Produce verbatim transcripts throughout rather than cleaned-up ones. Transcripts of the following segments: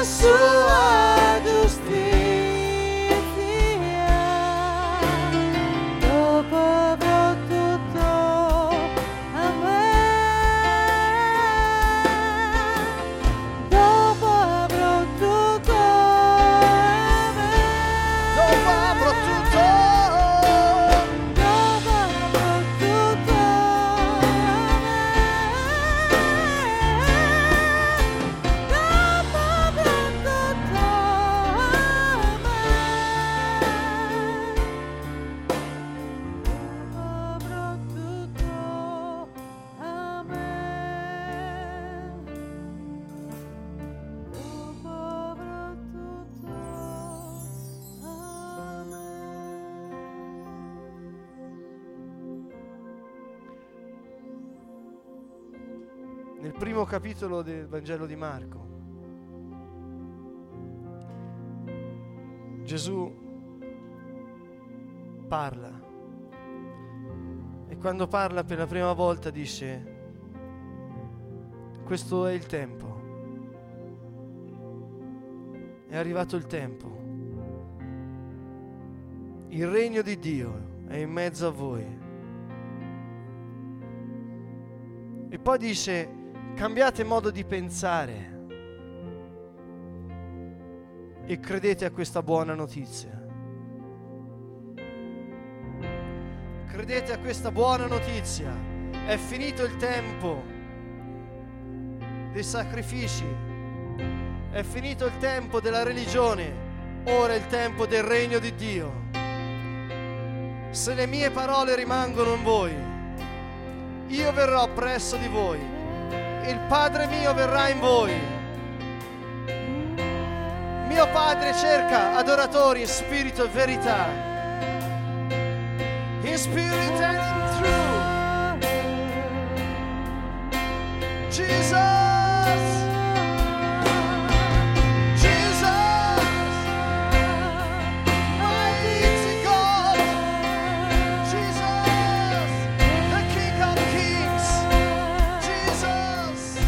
sua giustizia. Dopo avrò tutto, amen. Dopo avrò tutto, amen. Dopo avrò tutto, Dopo avrò tutto, nel primo capitolo del Vangelo di Marco, Gesù parla e quando parla per la prima volta dice: questo è il tempo, è arrivato il tempo, il regno di Dio è in mezzo a voi. E poi dice: cambiate modo di pensare e credete a questa buona notizia. Credete a questa buona notizia. È finito il tempo dei sacrifici. È finito il tempo della religione. Ora è il tempo del regno di Dio. Se le mie parole rimangono in voi, io verrò presso di voi. Il Padre mio verrà in voi. Mio Padre cerca adoratori in spirito e verità. In spirit and in truth. Jesus. Jesus. Mighty God. Jesus. The King of Kings. Jesus.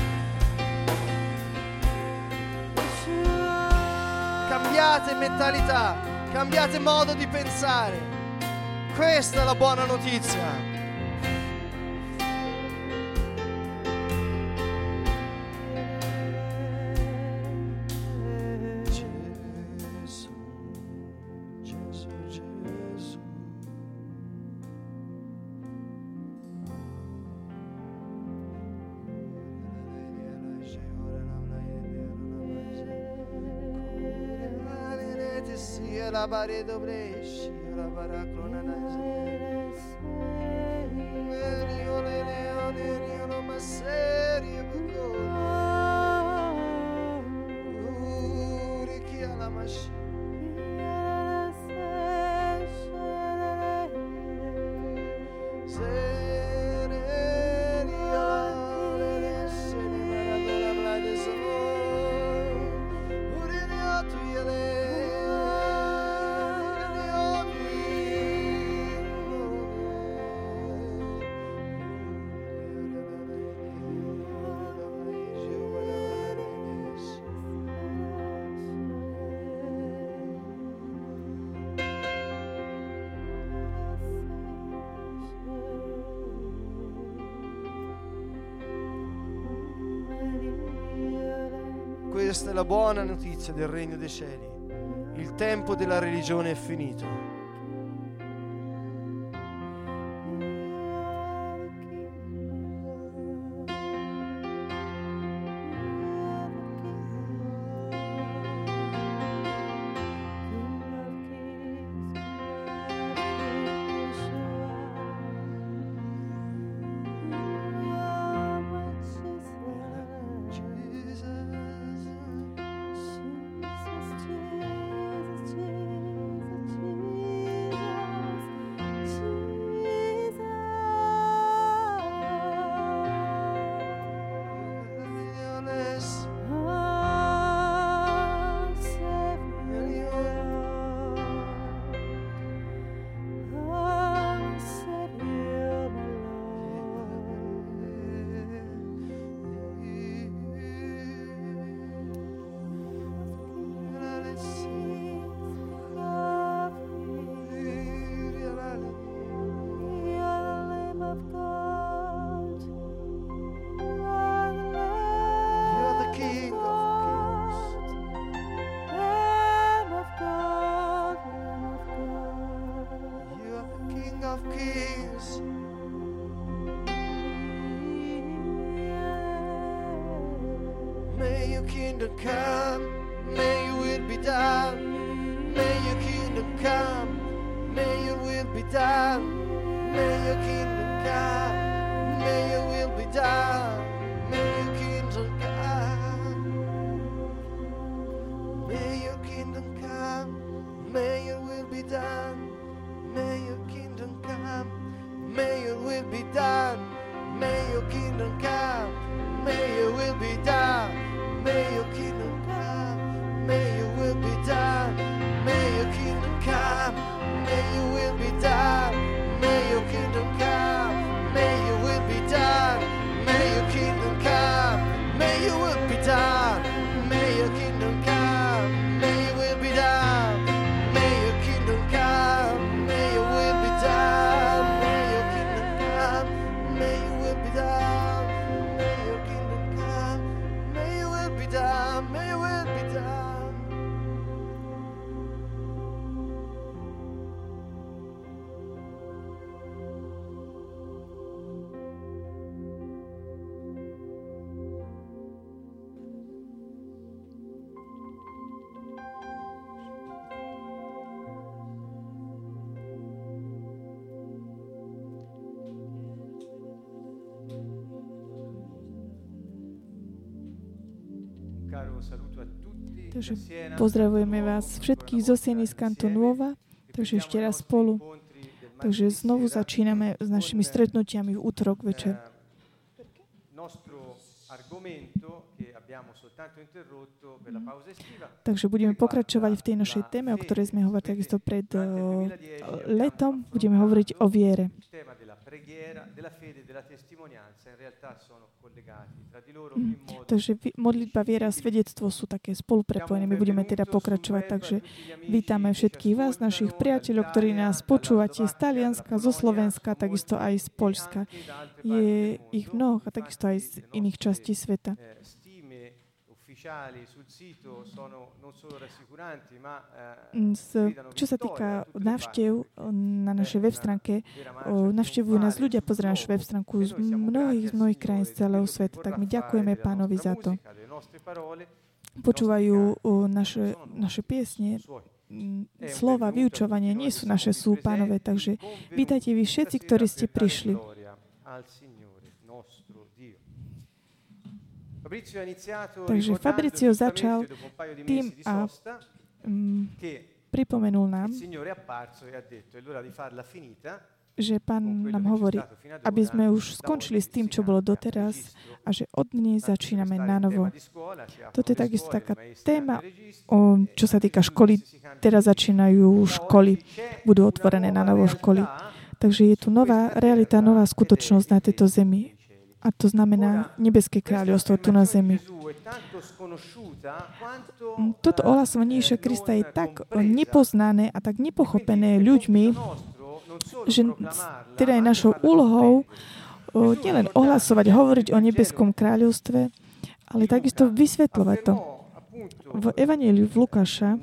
Cambiate mentalità, cambiate modo di pensare. Questa è la buona notizia. Gesù, Gesù, Gesù. La paredo bresci, la paraclona Io le leone, io non ma serie Uri chi ha la mascina. Questa è la buona notizia del regno dei cieli. Il tempo della religione è finito. May your kingdom come, may your will be done. May your kingdom come, may your will be done. May your kingdom come, may your will be done. May your kingdom come. May your kingdom come, may your will be done. May your kingdom come, may your will be done. May your kingdom come, may your will be done. May your kingdom come, may your will be done. May your kingdom come, may your will be done. May your kingdom come, may your will be done. May your kingdom come, may your will be done. May your kingdom come, may your will be done. May your kingdom come, may your will be done. May your kingdom come, may your will be done. May your kingdom come, may your will be done. May your will be done. Takže pozdravujeme vás všetkých zo Sieny z Kantonuova, takže ešte raz spolu. Takže znovu začíname s našimi stretnutiami v útorok večer. Takže budeme pokračovať v tej našej téme, o ktorej sme hovorili takisto pred uh, letom. Budeme hovoriť o viere. Takže modlitba, viera a svedectvo sú také spoluprepojené. My budeme teda pokračovať, takže vítame všetkých vás, našich priateľov, ktorí nás počúvate z Talianska, zo Slovenska, takisto aj z Poľska. Je ich mnoho a takisto aj z iných častí sveta. Čo sa týka návštev na našej web stránke, navštevujú nás ľudia, pozerajú našu web stránku z mnohých, z mnohých krajín z celého sveta, tak my ďakujeme Pánovi za to. Počúvajú naše, naše piesne, slova, vyučovanie, nie sú naše, sú Pánové, takže vítajte vy všetci, ktorí ste prišli. Takže Fabrizio začal tým a um, pripomenul nám, že Pán nám hovorí, aby sme už skončili s tým, čo bolo doteraz a že od dnes začíname na novo. Toto je takisto taká téma, o, čo sa týka školy. Teraz začínajú školy, budú otvorené na novo školy. Takže je tu nová realita, nová skutočnosť na tejto zemi. A to znamená nebeské kráľovstvo tu na zemi. Toto ohlasovanie Ježiša Krista je tak nepoznané a tak nepochopené ľuďmi, že teda je našou úlohou nielen ohlasovať, hovoriť o nebeskom kráľovstve, ale takisto vysvetľovať to. V Evanjeliu v Lukáša,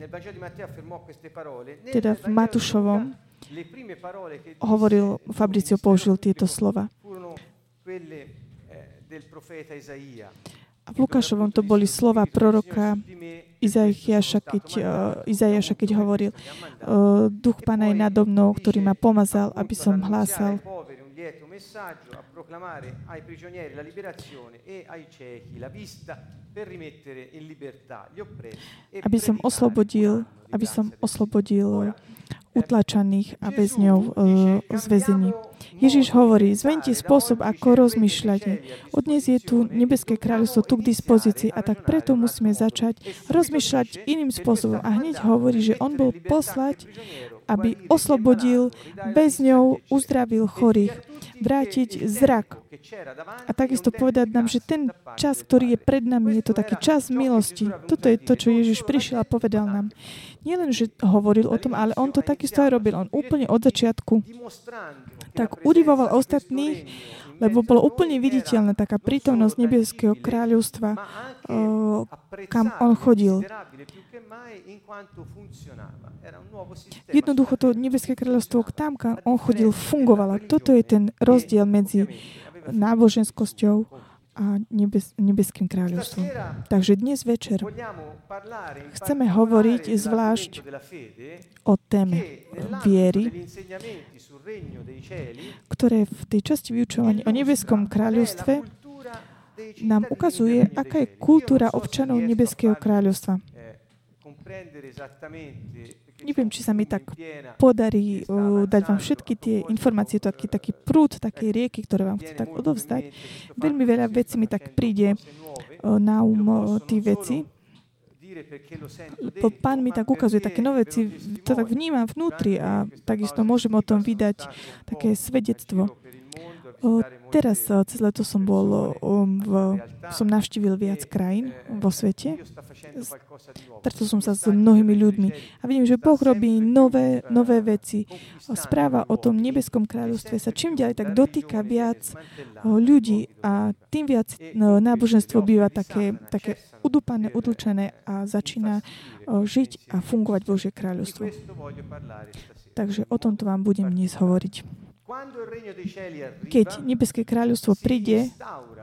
teda v Matúšovom, hovoril, Fabrizio použil tieto slova. A v Lukášovom to boli slova proroka Izaiáša, keď, uh, Izaiáša, keď hovoril uh, Duch Pána je nado mnou, ktorý ma pomazal, aby som hlásal aby som oslobodil, aby som oslobodil utlačaných a väzňov uh, z väzení. Ježiš hovorí, zmente spôsob, ako rozmýšľate. Od dnes je tu nebeské kráľovstvo tu k dispozícii a tak preto musíme začať rozmýšľať iným spôsobom. A hneď hovorí, že on bol poslať, aby oslobodil väzňov, uzdravil chorých, vrátiť zrak. A takisto povedať nám, že ten čas, ktorý je pred nami, je to taký čas milosti. Toto je to, čo Ježiš prišiel a povedal nám. Nielen, že hovoril o tom, ale on to takisto aj robil. On úplne od začiatku tak udivoval ostatných, lebo bolo úplne viditeľná taká prítomnosť nebeského kráľovstva, kam on chodil. Jednoducho to nebeské kráľovstvo tam, kam on chodil, fungovalo. Toto je ten rozdiel medzi náboženskosťou a nebes, nebeským kráľovstvom. Takže dnes večer chceme hovoriť zvlášť o téme viery, ktoré v tej časti vyučovaní o nebeskom kráľovstve nám ukazuje, aká je kultúra občanov nebeského kráľovstva. Neviem, či sa mi tak podarí uh, dať vám všetky tie informácie, taký, taký prúd, také rieky, ktoré vám chcem tak odovzdať. Veľmi veľa vecí mi tak príde uh, na um uh, tí veci. Lebo Pán mi tak ukazuje také nové veci, to tak vnímam vnútri a takisto môžem o tom vydať také svedectvo. O, teraz cez leto som bol, o, v, som navštívil viac krajín vo svete. Stretol som sa s mnohými ľuďmi a vidím, že Boh robí nové, nové veci. Správa o tom nebeskom kráľovstve sa čím ďalej tak dotýka viac o, ľudí a tým viac no, náboženstvo býva také, také udupané, udlčené a začína o, žiť a fungovať Božie kráľovstvo. Takže o tomto vám budem dnes hovoriť. Keď nebeské kráľovstvo príde,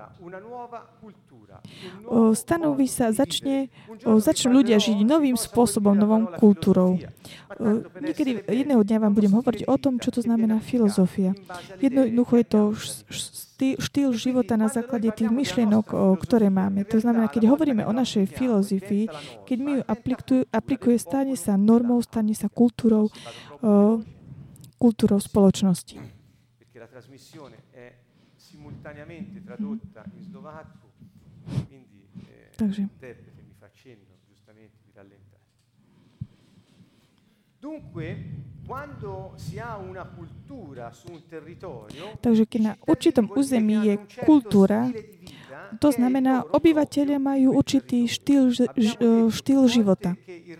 o, stanoví sa, začne, o, začnú ľudia žiť novým spôsobom, novou kultúrou. O, niekedy jedného dňa vám budem hovoriť o tom, čo to znamená filozofia. Jednoducho je to štýl života na základe tých myšlienok, o, ktoré máme. To znamená, keď hovoríme o našej filozofii, keď my ju aplikuje, aplikuje, stane sa normou, stane sa kultúrou, o, kultúrou spoločnosti. La trasmissione è simultaneamente tradotta in slovacco, quindi eh, l'interprete mi fa cenno giustamente di rallentare. Dunque, quando si ha una cultura su un territorio, takže keď na určitom území je kultúra, to znamená, obyvatelia majú určitý štýl, štýl života.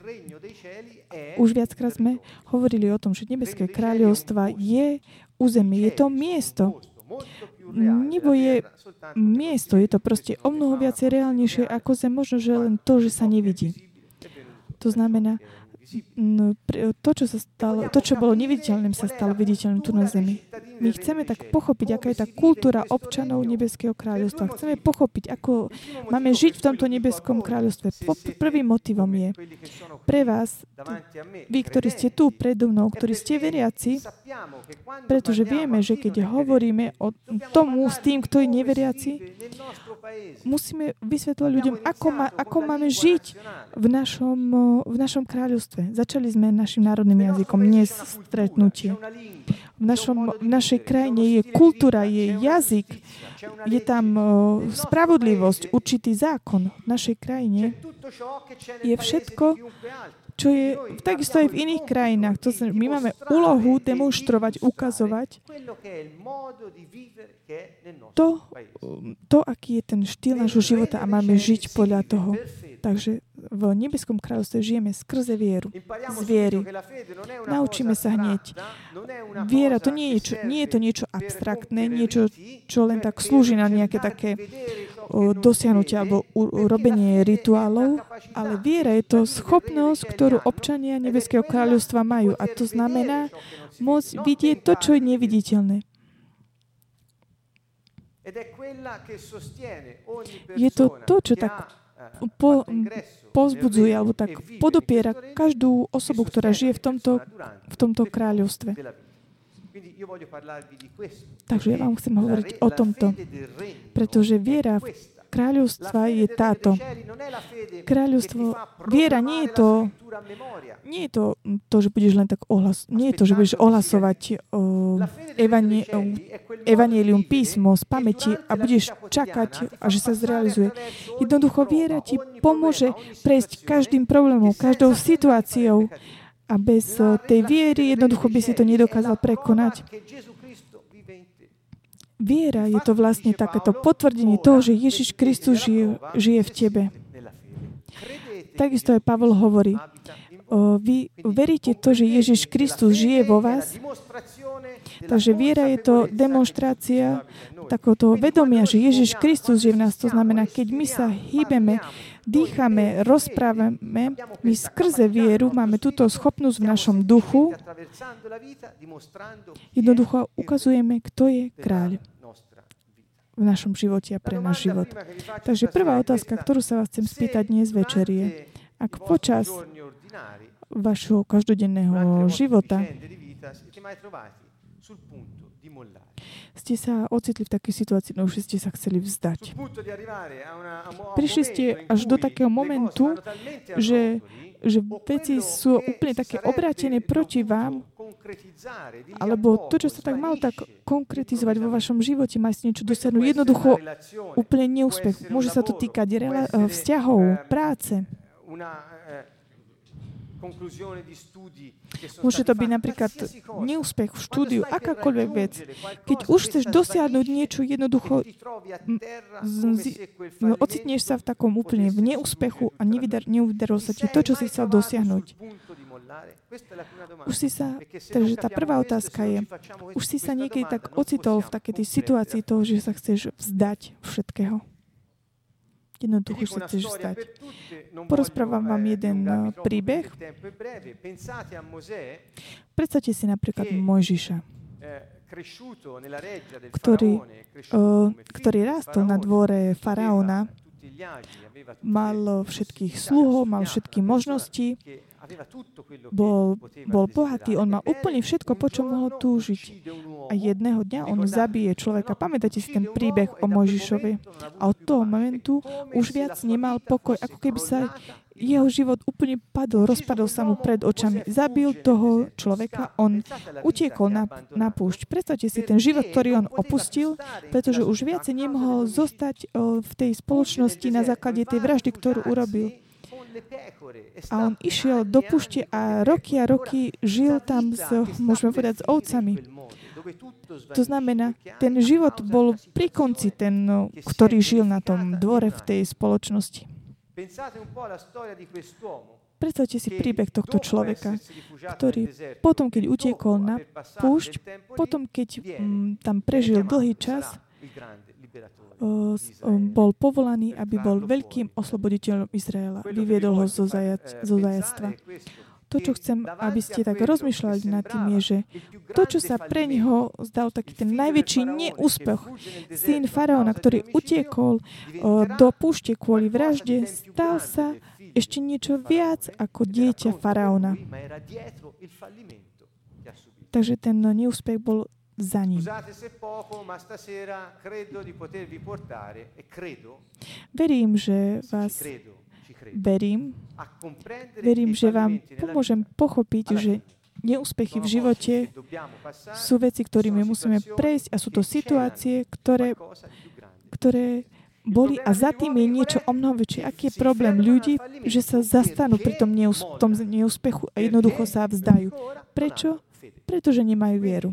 Už viackrát sme hovorili o tom, že nebeské kráľovstva je územie, je to miesto. Nebo je miesto, je to proste o mnoho viacej reálnejšie ako zem, možno, že len to, že sa nevidí. To znamená, to, čo sa stalo, to, čo bolo neviditeľným, sa stalo viditeľným tu na zemi. My chceme tak pochopiť, aká je tá kultúra občanov nebeského kráľovstva. Chceme pochopiť, ako máme žiť v tomto nebeskom kráľovstve. Prvým motivom je pre vás, vy, ktorí ste tu predo mnou, ktorí ste veriaci, pretože vieme, že keď hovoríme o tomu s tým, kto je neveriaci, musíme vysvetľovať ľuďom, ako, má, ako máme žiť v našom, v našom kráľovstve. Začali sme našim národným jazykom dnes stretnutie. V, našom, v našej krajine je kultúra, je jazyk, je tam uh, spravodlivosť, určitý zákon. V našej krajine je všetko, čo je takisto aj v iných krajinách. To znamená, my máme úlohu demonštrovať, ukazovať to, to, aký je ten štýl nášho života a máme žiť podľa toho. Takže v nebeskom kráľovstve žijeme skrze vieru. Z viery. Naučíme sa hneď. Viera, to nie je, čo, nie je to niečo abstraktné, niečo, čo len tak slúži na nejaké také o, dosiahnutie alebo urobenie rituálov, ale viera je to schopnosť, ktorú občania nebeského kráľovstva majú. A to znamená môcť vidieť to, čo je neviditeľné. Je to to, čo tak po, pozbudzuje alebo tak podopiera každú osobu, ktorá žije v tomto, v tomto kráľovstve. Takže ja vám chcem hovoriť o tomto, pretože viera v kráľovstva je táto. Kráľovstvo, viera nie je to, nie je to, to že budeš len tak ohlas, nie je to, že budeš ohlasovať o, evanie, o, evanjelium písmo z pamäti a budeš čakať, a že sa zrealizuje. Jednoducho viera ti pomôže prejsť každým problémom, každou situáciou a bez tej viery jednoducho by si to nedokázal prekonať. Viera je to vlastne takéto potvrdenie toho, že Ježiš Kristus žije, žije v tebe. Takisto aj Pavol hovorí, o, vy veríte to, že Ježiš Kristus žije vo vás? Takže viera je to demonštrácia takéhoto vedomia, že Ježiš Kristus žije v nás. To znamená, keď my sa hýbeme, dýchame, rozprávame, my skrze vieru máme túto schopnosť v našom duchu. Jednoducho ukazujeme, kto je kráľ v našom živote a pre náš život. Takže prvá otázka, ktorú sa vás chcem spýtať dnes večer je, ak počas vašho každodenného života ste sa ocitli v takej situácii, no už ste sa chceli vzdať. Prišli ste až do takého momentu, že, že veci sú úplne také obrátené proti vám, alebo to, čo sa tak malo tak konkretizovať vo vašom živote, má si niečo dosiahnuť. Jednoducho úplne neúspech. Môže sa to týkať rela- vzťahov, práce. Môže to byť napríklad neúspech v štúdiu, akákoľvek vec. Keď už chceš dosiahnuť niečo, jednoducho z- z- ocitneš sa v takom úplne v neúspechu a neudarilo sa ti to, čo si chcel dosiahnuť. Už si sa, takže tá prvá otázka je, už si sa niekedy tak ocitol v takej tej situácii toho, že sa chceš vzdať všetkého. Jednoducho sa chceš vzdať. Porozprávam vám jeden uh, príbeh. Predstavte si napríklad Mojžiša, ktorý, uh, ktorý rástol na dvore faraóna, mal všetkých sluhov, mal všetky možnosti, bol, bol bohatý, on mal úplne všetko, po čom mohol túžiť. A jedného dňa on zabije človeka. Pamätáte si ten príbeh o Mojžišovi? A od toho momentu už viac nemal pokoj, ako keby sa jeho život úplne padol, rozpadol sa mu pred očami. Zabil toho človeka, on utiekol na, na púšť. Predstavte si ten život, ktorý on opustil, pretože už viacej nemohol zostať o, v tej spoločnosti na základe tej vraždy, ktorú urobil. A on išiel do púšte a roky a roky žil tam s, môžeme povedať, s ovcami. To znamená, ten život bol pri konci, ten, ktorý žil na tom dvore v tej spoločnosti. Predstavte si príbeh tohto človeka, ktorý potom, keď utiekol na púšť, potom, keď m, tam prežil dlhý čas, O, o, bol povolaný, aby bol veľkým osloboditeľom Izraela. Vyviedol ho zo, zajac, zo zajactva. To, čo chcem, aby ste tak rozmýšľali nad tým, je, že to, čo sa pre neho zdal taký ten najväčší neúspech, syn faraóna, ktorý utiekol o, do púšte kvôli vražde, stal sa ešte niečo viac ako dieťa faraóna. Takže ten neúspech bol za ním. Verím, že vás verím, verím, že vám pomôžem pochopiť, že neúspechy v živote sú veci, ktorými musíme prejsť a sú to situácie, ktoré, ktoré boli a za tým je niečo o mnoho väčšie. Aký je problém ľudí, že sa zastanú pri tom, neús- tom neúspechu a jednoducho sa vzdajú. Prečo? Pretože nemajú vieru.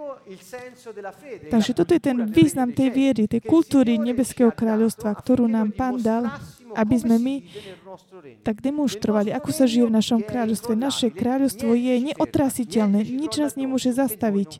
Takže toto je ten význam tej viery, tej kultúry Nebeského kráľovstva, ktorú nám Pán dal, aby sme my tak demonštrovali, ako sa žije v našom kráľovstve. Naše kráľovstvo je neotrasiteľné, nič nás nemôže zastaviť.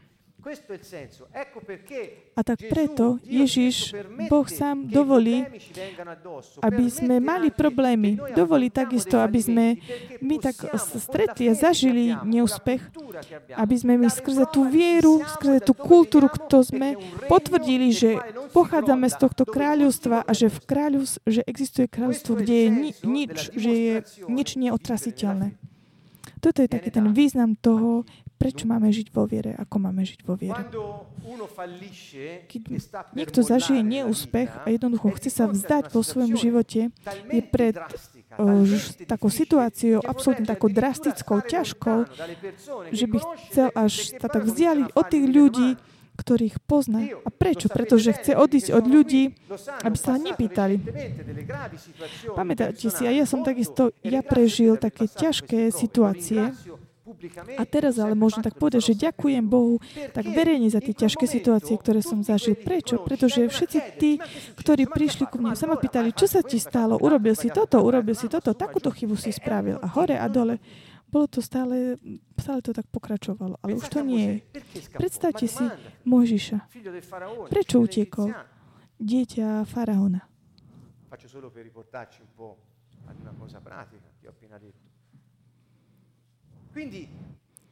A tak preto Ježiš, Boh sám dovolí, aby sme mali problémy. Dovolí takisto, aby sme my tak stretli a zažili neúspech, aby sme my skrze tú vieru, skrze tú kultúru, kto sme potvrdili, že pochádzame z tohto kráľovstva a že v kráľovstve, že existuje kráľovstvo, kde je ni- nič, že je nič neotrasiteľné. Toto je taký ten význam toho, prečo máme žiť vo viere, ako máme žiť vo viere. Keď niekto zažije neúspech a jednoducho chce sa vzdať vo svojom živote, je pred o, takou situáciou, absolútne takou drastickou, ťažkou, že by chcel až sa tak vzdialiť od tých ľudí, ktorých pozná. A prečo? Pretože chce odísť od ľudí, aby sa nepýtali. Pamätáte si, a ja som takisto, ja prežil také ťažké situácie, a teraz ale môžem tak povedať, že ďakujem Bohu tak verejne za tie ťažké situácie, ktoré som zažil. Prečo? Pretože všetci tí, ktorí prišli ku mne, sa ma pýtali, čo sa ti stalo? Urobil si toto, urobil si toto, takúto chybu si spravil. A hore a dole. Bolo to stále, stále to tak pokračovalo. Ale už to nie je. Predstavte si Mojžiša. Prečo utiekol? Dieťa faraóna. Faccio solo per riportarci un po' ad una cosa pratica che ho appena detto.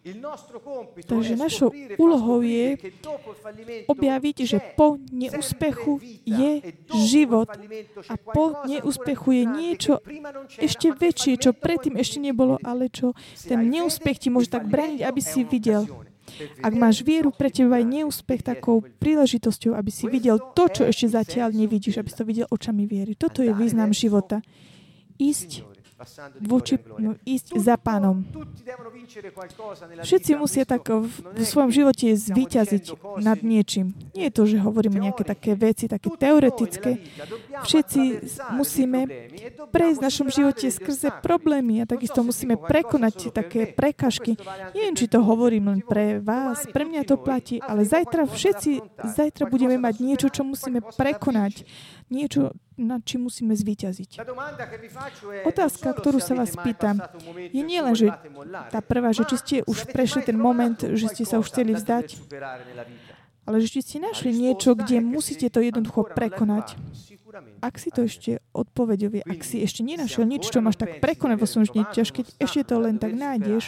Takže našou úlohou je objaviť, že po neúspechu je život a po neúspechu je niečo ešte väčšie, čo predtým ešte nebolo, ale čo ten neúspech ti môže tak brániť, aby si videl. Ak máš vieru, pre teba je neúspech takou príležitosťou, aby si videl to, čo ešte zatiaľ nevidíš, aby si to videl očami viery. Toto je význam života. Ísť voči, no, ísť za Pánom. Všetci musia tak v, v svojom živote zvíťaziť nad niečím. Nie je to, že hovoríme nejaké také veci, také teoretické. Všetci musíme prejsť v našom živote skrze problémy a takisto musíme prekonať také prekažky. Neviem, či to hovorím len pre vás, pre mňa to platí, ale zajtra všetci, zajtra budeme mať niečo, čo musíme prekonať. Niečo, nad čím musíme zvíťaziť. Otázka, ktorú sa vás pýtam, je nielen, že tá prvá, že či ste už prešli ten moment, že ste sa už chceli vzdať, ale že či ste našli niečo, kde musíte to jednoducho prekonať. Ak si to ešte odpovedovie, ak si ešte nenašiel nič, čo máš tak prekonať vo svojom živote, keď ešte to len tak nájdeš,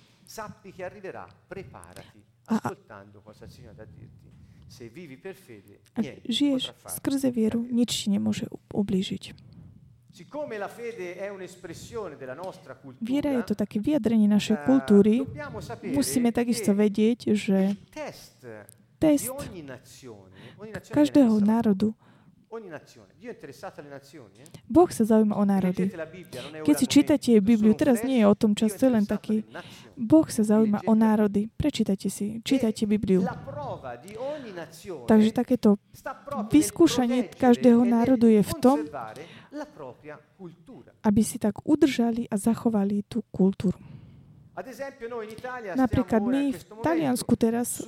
a, a ak žiješ skrze vieru, nič ti nemôže ublížiť. Viera je to také vyjadrenie našej kultúry. Musíme takisto vedieť, že test každého národu, Boh sa zaujíma o národy. Keď si čítate Bibliu, teraz nie je o tom čas, to je len taký. Boh sa zaujíma o národy. Prečítajte si, čítajte Bibliu. Takže takéto vyskúšanie každého národu je v tom, aby si tak udržali a zachovali tú kultúru. Napríklad my v Taliansku teraz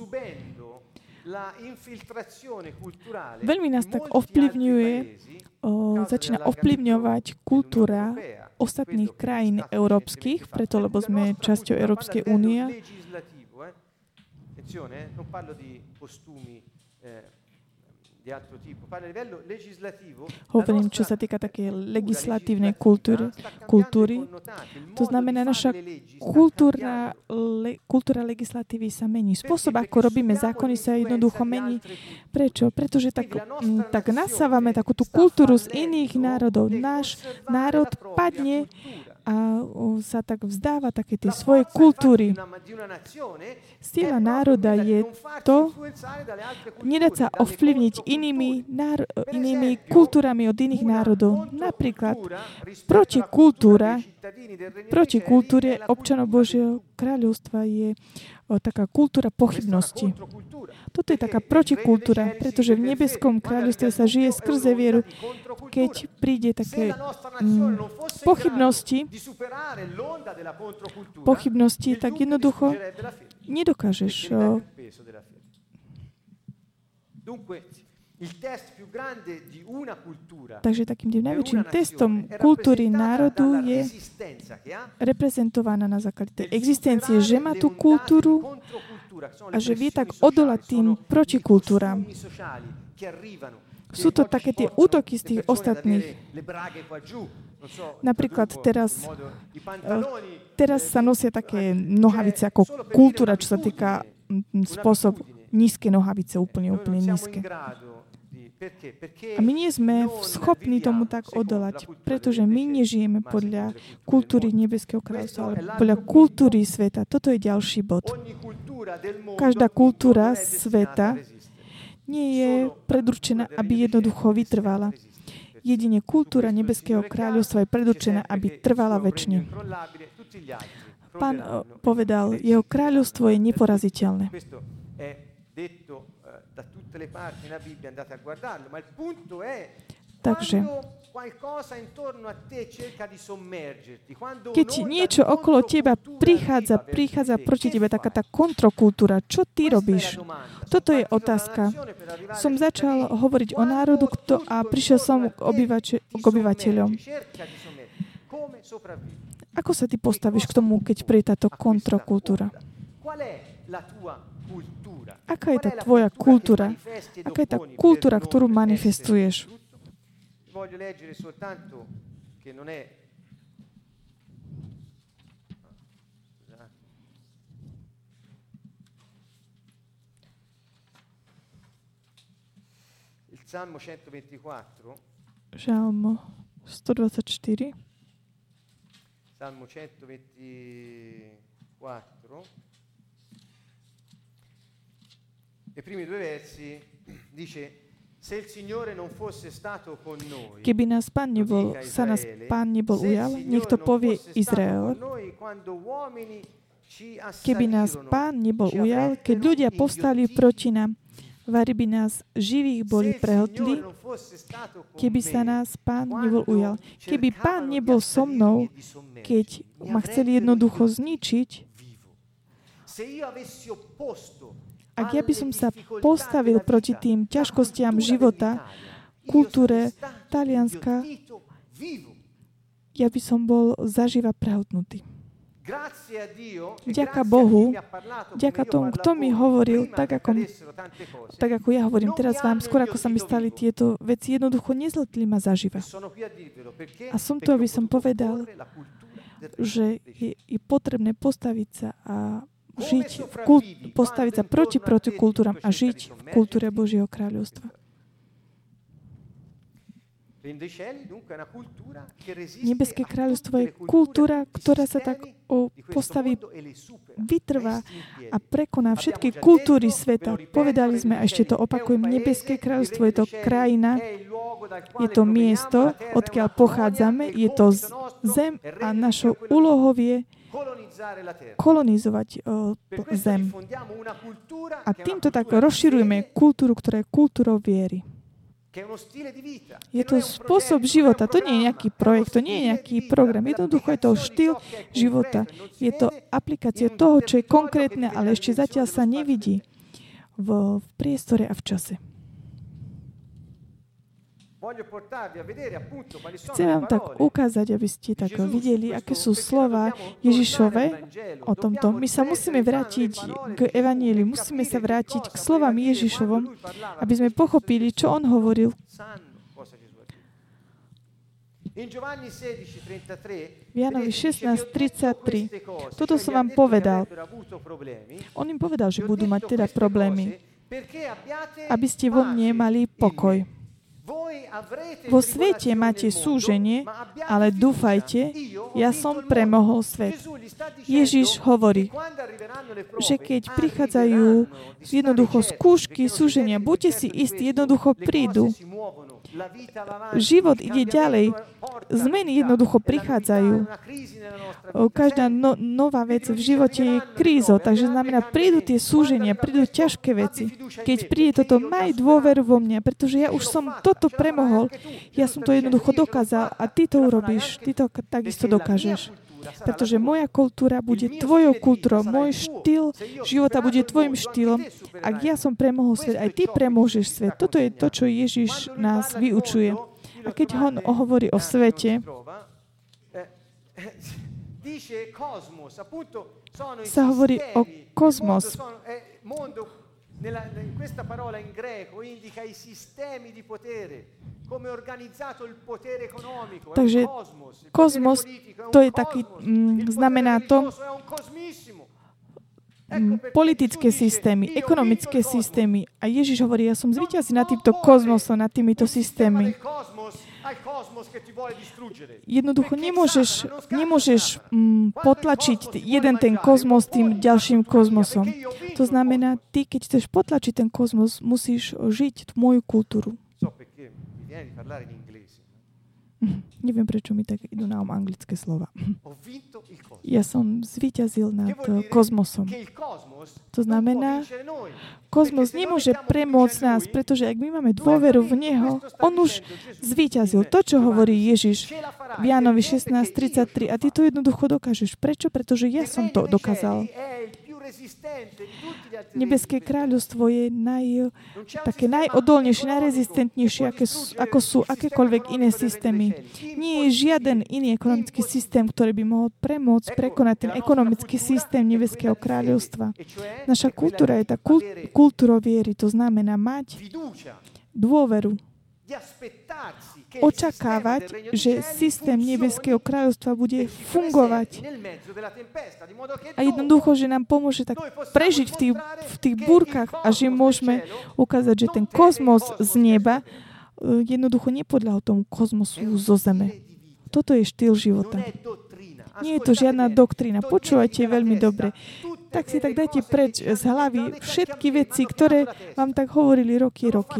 veľmi nás tak ovplyvňuje, o, začína ovplyvňovať kultúra ostatných krajín európskych, preto lebo sme časťou Európskej únie. Hovorím, čo sa týka také legislatívnej kultúry. kultúry. To znamená, naša kultúra, le, kultúra legislatívy sa mení. Spôsob, ako robíme zákony, sa jednoducho mení. Prečo? Pretože tak, m, tak nasávame takú tú kultúru z iných národov. Náš národ padne a o, sa tak vzdáva také tej svojej kultúry. Sila národa je to, nedať sa ovplyvniť inými, náro, inými kultúrami od iných národov. Napríklad protikultúra, protikultúre občanov Božieho kráľovstva je o, taká kultúra pochybnosti. Toto je taká protikultúra, pretože v nebeskom kráľovstve sa žije skrze vieru. Keď príde také mm, pochybnosti, pochybnosti, tak jednoducho nedokážeš. O, Takže takým najväčším testom kultúry národu je reprezentovaná na základe tej existencie, že má tú kultúru a že vie tak odolať tým protikultúram. Sú to také tie útoky z tých ostatných. Napríklad teraz, teraz sa nosia také nohavice ako kultúra, čo sa týka spôsob nízke nohavice, úplne, úplne nízke. A my nie sme schopní tomu tak odolať, pretože my nežijeme podľa kultúry nebeského kráľovstva, ale podľa kultúry sveta. Toto je ďalší bod. Každá kultúra sveta nie je predurčená, aby jednoducho vytrvala. Jedine kultúra nebeského kráľovstva je predurčená, aby trvala večne. Pán povedal, jeho kráľovstvo je neporaziteľné. Takže, keď niečo okolo teba prichádza, prichádza proti tebe taká tá kontrokultúra, čo ty robíš? Toto je otázka. Som začal hovoriť o národu kto, a prišiel som k, obyvateľ, k obyvateľom. Ako sa ty postavíš k tomu, keď príde táto kontrokultúra? Aká je tá tvoja kultúra? Aká je tá kultúra, ktorú manifestuješ? Žalm stodvadsaťštyri. Salmo centoventiquattro. I primi due versi dice: Se il Signore non fosse stato con noi, keby nás Pán nebol, sa nás Pán nebol ujal, nech to povie Izrael. Keby nás Pán nebol ujal, keď ľudia povstali proti nám, vari by nás živých boli prehltli, keby sa nás Pán nebol ujal. Keby Pán nebol so mnou, keď ma chceli jednoducho zničiť, ak ja by som sa postavil proti tým ťažkostiam života, kultúre Talianska, ja by som bol zaživa prehltnutý. Vďaka Bohu, vďaka tomu, kto mi hovoril, tak ako, tak ako ja hovorím teraz vám, skôr ako sa mi stali tieto veci, jednoducho nezletli ma zaživa. A som tu, aby som povedal, že je, je potrebné postaviť sa a žiť v kult, postaviť sa proti protikultúram a žiť v kultúre Božieho kráľovstva. Nebeské kráľovstvo je kultúra, ktorá sa tak o, postaví, vytrvá a prekoná všetky kultúry sveta. Povedali sme, a ešte to opakujem, Nebeské kráľovstvo je to krajina, je to miesto, odkiaľ pochádzame, je to zem a našou úlohou je kolonizovať o, zem. A týmto tak rozširujeme kultúru, ktorá je kultúrou viery. Je to spôsob života, to nie je nejaký projekt, to nie je nejaký program. Jednoducho je to štýl života. Je to aplikácia toho, čo je konkrétne, ale ešte zatiaľ sa nevidí v, v priestore a v čase. Chcem vám tak ukázať, aby ste tak videli, aké sú slova Ježišove o tomto. My sa musíme vrátiť k evanjeliu, musíme sa vrátiť k slovám Ježišovom, aby sme pochopili, čo on hovoril. V Jánovi šestnásť tridsaťtri. Toto som vám povedal. On im povedal, že budú mať teda problémy, aby ste vo mne mali pokoj. Vo svete máte súženie, ale dúfajte, ja som premohol svet. Ježiš hovorí, že keď prichádzajú jednoducho skúšky, súženia, buďte si istí, jednoducho prídu. Život ide ďalej. Zmeny jednoducho prichádzajú. Každá no, nová vec v živote je krízou, takže znamená, prídu tie súženia, prídu ťažké veci. Keď príde toto, maj dôveru vo mňa, pretože ja už som toto premohol. Ja som to jednoducho dokázal a ty to urobíš. Ty to takisto dokážeš. Pretože moja kultúra bude tvojou kultúrou, môj štýl života bude tvojim štýlom. Ak ja som premohol svet, aj ty premôžeš svet. Toto je to, čo Ježiš nás vyučuje. A keď on hovorí o svete, sa hovorí o kozmos. In questa parola in greco indica i sistemi di potere, come organizzato il potere economico. Takže kozmos, to je taký, mm, znamená to mm, politické systémy, ekonomické systémy. A Ježiš hovorí, ja som zvíťazí nad týmto kozmosom, nad týmito systémmi. Jednoducho nemôžeš, nemôžeš mm, potlačiť jeden ten kozmos tým ďalším kozmosom. To znamená, ty, keď chceš potlačiť ten kozmos, musíš žiť moju kultúru. Neviem, prečo mi tak idú na um anglické slova. Ja som zvíťazil nad kozmosom. To znamená, kozmos nemôže premôcť nás, pretože ak my máme dôveru v Neho, on už zvíťazil. To, čo hovorí Ježiš v Jánovi šestnásť tridsaťtri. A ty to jednoducho dokážeš. Prečo? Pretože ja som to dokázal. Nebeské kráľovstvo je naj, také najodolnejšie, najrezistentnejšie, aké sú, ako sú akékoľvek iné systémy. Nie je žiaden iný ekonomický systém, ktorý by mohol premôcť, prekonať ten ekonomický systém Nebeského kráľovstva. Naša kultúra je tá kult, kultúra viery, to znamená mať dôveru. očakávať, že systém nebeského kráľovstva bude fungovať. A jednoducho, že nám pomôže tak prežiť v tých, v tých búrkach a že môžeme ukázať, že ten kozmos z neba jednoducho nepodľahol tomu kozmosu zo zeme. Toto je štýl života. Nie je to žiadna doktrína. Počúvajte veľmi dobre. Tak si tak dajte preč z hlavy všetky veci, ktoré vám tak hovorili roky, roky.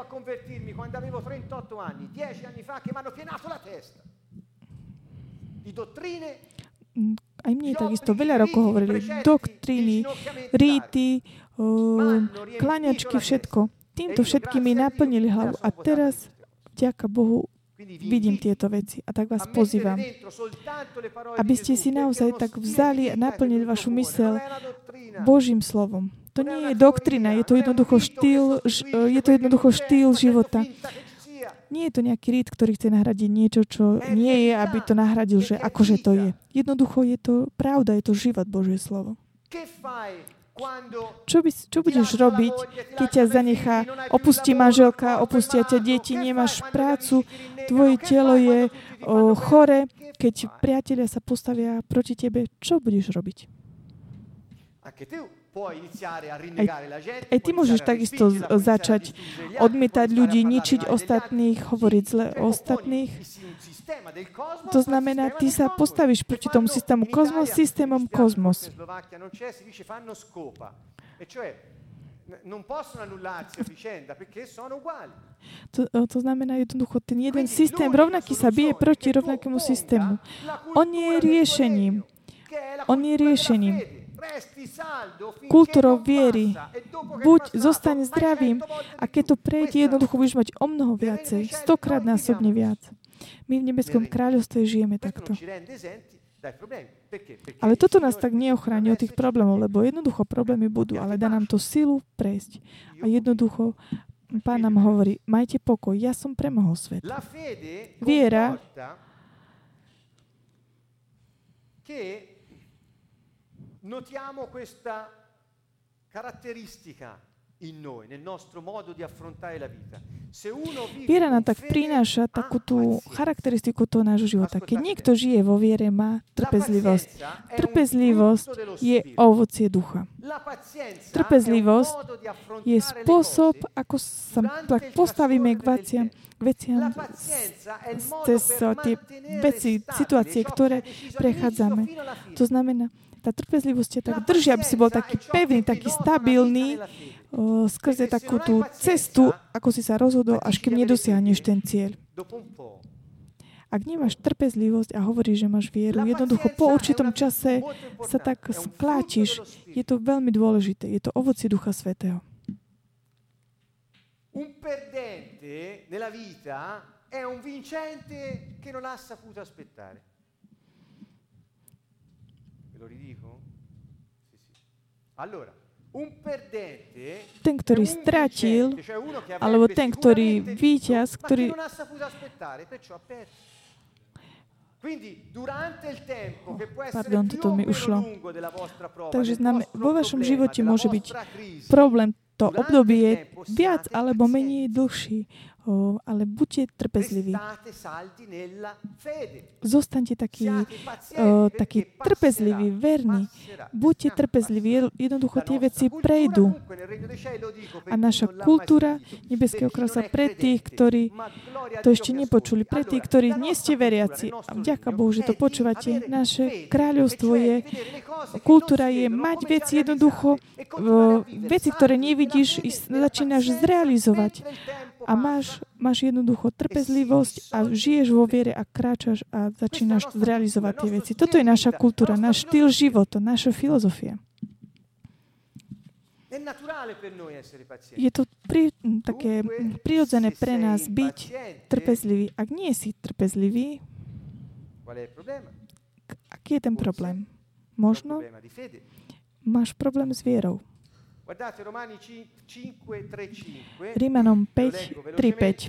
Aj mne takisto veľa rokov hovorili. Doktríny, ríty, kláňačky, všetko. Týmto všetkými naplnili hlavu. A teraz, vďaka Bohu, vidím tieto veci. A tak vás pozývam, aby ste si naozaj tak vzali a naplnili vašu myseľ Božím slovom. To nie je doktrina, je to jednoducho štýl, je to jednoducho štýl života. Nie je to nejaký rít, ktorý chce nahradiť niečo, čo nie je, aby to nahradil, že akože to je. Jednoducho je to pravda, je to život, Božie slovo. Čo, by, čo budeš robiť, keď ťa zanechá, opustí manželka, opustia ťa deti, nemáš prácu, tvoje telo je o, chore, keď priatelia sa postavia proti tebe, čo budeš robiť? Aj, aj ty môžeš takisto začať odmietať ľudí, ničiť ostatných, hovoriť zle o ostatných. To znamená, ty sa postavíš proti tomu systému kozmos, systémom kozmos. To, to znamená jednoducho, ten jeden systém rovnaký sa bije proti rovnakému systému. On je riešením. On je riešením. Kultúrou viery. Buď zostaň zdravým a keď to prejde, jednoducho budeš mať o mnoho viacej. Stokrát násobne viac. My v nebeskom kráľovstve žijeme takto. Ale toto nás tak neochráni od tých problémov, lebo jednoducho problémy budú, ale dá nám to silu prejsť. A jednoducho Pán nám hovorí, majte pokoj, ja som premohol svet. Viera notiamo questa caratteristica in noi, nel nostro modo di affrontare la vita. Viera nám tak prináša takú tú charakteristiku toho nášho života. Keď niekto žije vo viere, má trpezlivosť. Trpezlivosť je ovocie ducha. Trpezlivosť je spôsob, ako sa postavíme k veciam, k veciam cez tie veci, situácie, ktoré prechádzame. To znamená, tá trpezlivosť je tak drží, aby si bol taký pevný, taký stabilný o, skrze takú tú cestu, ako si sa rozhodol, až kým nedosiahneš ten cieľ. Ak nemáš trpezlivosť a hovoríš, že máš vieru, jednoducho po určitom čase sa tak skláčiš. Je to veľmi dôležité. Je to ovocie Ducha Svätého. Un perdente nella vita è un vincente che non ha saputo aspettare. Ten, ktorý stratil, alebo ten, ktorý víťaz, ktorý... Pardon, toto mi ušlo. Takže znamená, vo vašom živote môže byť problém, to obdobie je viac alebo menej dlhší. O, ale buďte trpezliví. Zostaňte takí, o, takí trpezliví, verní. Buďte trpezliví, jednoducho tie veci prejdú. A naša kultúra nebeského kráľovstva pre tých, ktorí to ešte nepočuli, pre tých, ktorí nie ste veriaci, a vďaka Bohu, že to počúvate, naše kráľovstvo je, kultúra je mať veci jednoducho, o, veci, ktoré nevidíš, začínaš zrealizovať. A máš, máš jednoducho trpezlivosť a žiješ vo viere a kráčaš a začínaš zrealizovať tie veci. Toto je naša kultúra, náš štýl života, naša filozofia. Je to pri, také prirodzené pre nás byť trpezlivý. Ak nie si trpezlivý, aký je ten problém? Možno máš problém s vierou. Rímanom päť, tri päť.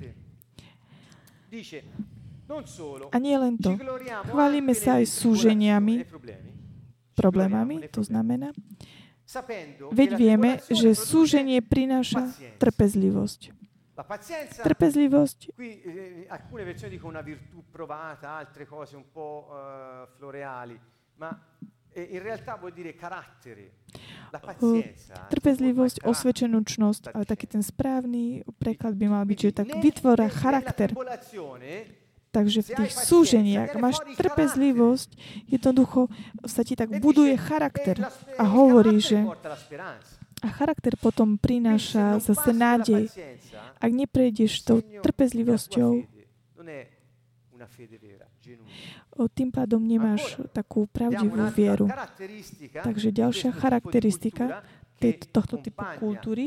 A nie len to. Chválime sa aj súženiami, problémami, to znamená, veď vieme, že súženie prináša trpezlivosť. Trpezlivosť. Qui eh, alcune versioni dicono una virtù provata, altre cose un po' eh, floreali, ma eh, in realtà vuol dire carattere. La pazienza. Trpezlivosť, osvedčenúčnosť, ale taký ten správny preklad by mal byť, že tak vytvára charakter. Takže v tých súženiach máš trpezlivosť, jednoducho sa ti tak buduje charakter a hovorí, že a charakter potom prináša zase nádej. Ak neprejdeš tou trpezlivosťou, tým pádom nemáš takú pravdivú vieru. Takže ďalšia charakteristika tejto, tohto typu kultúry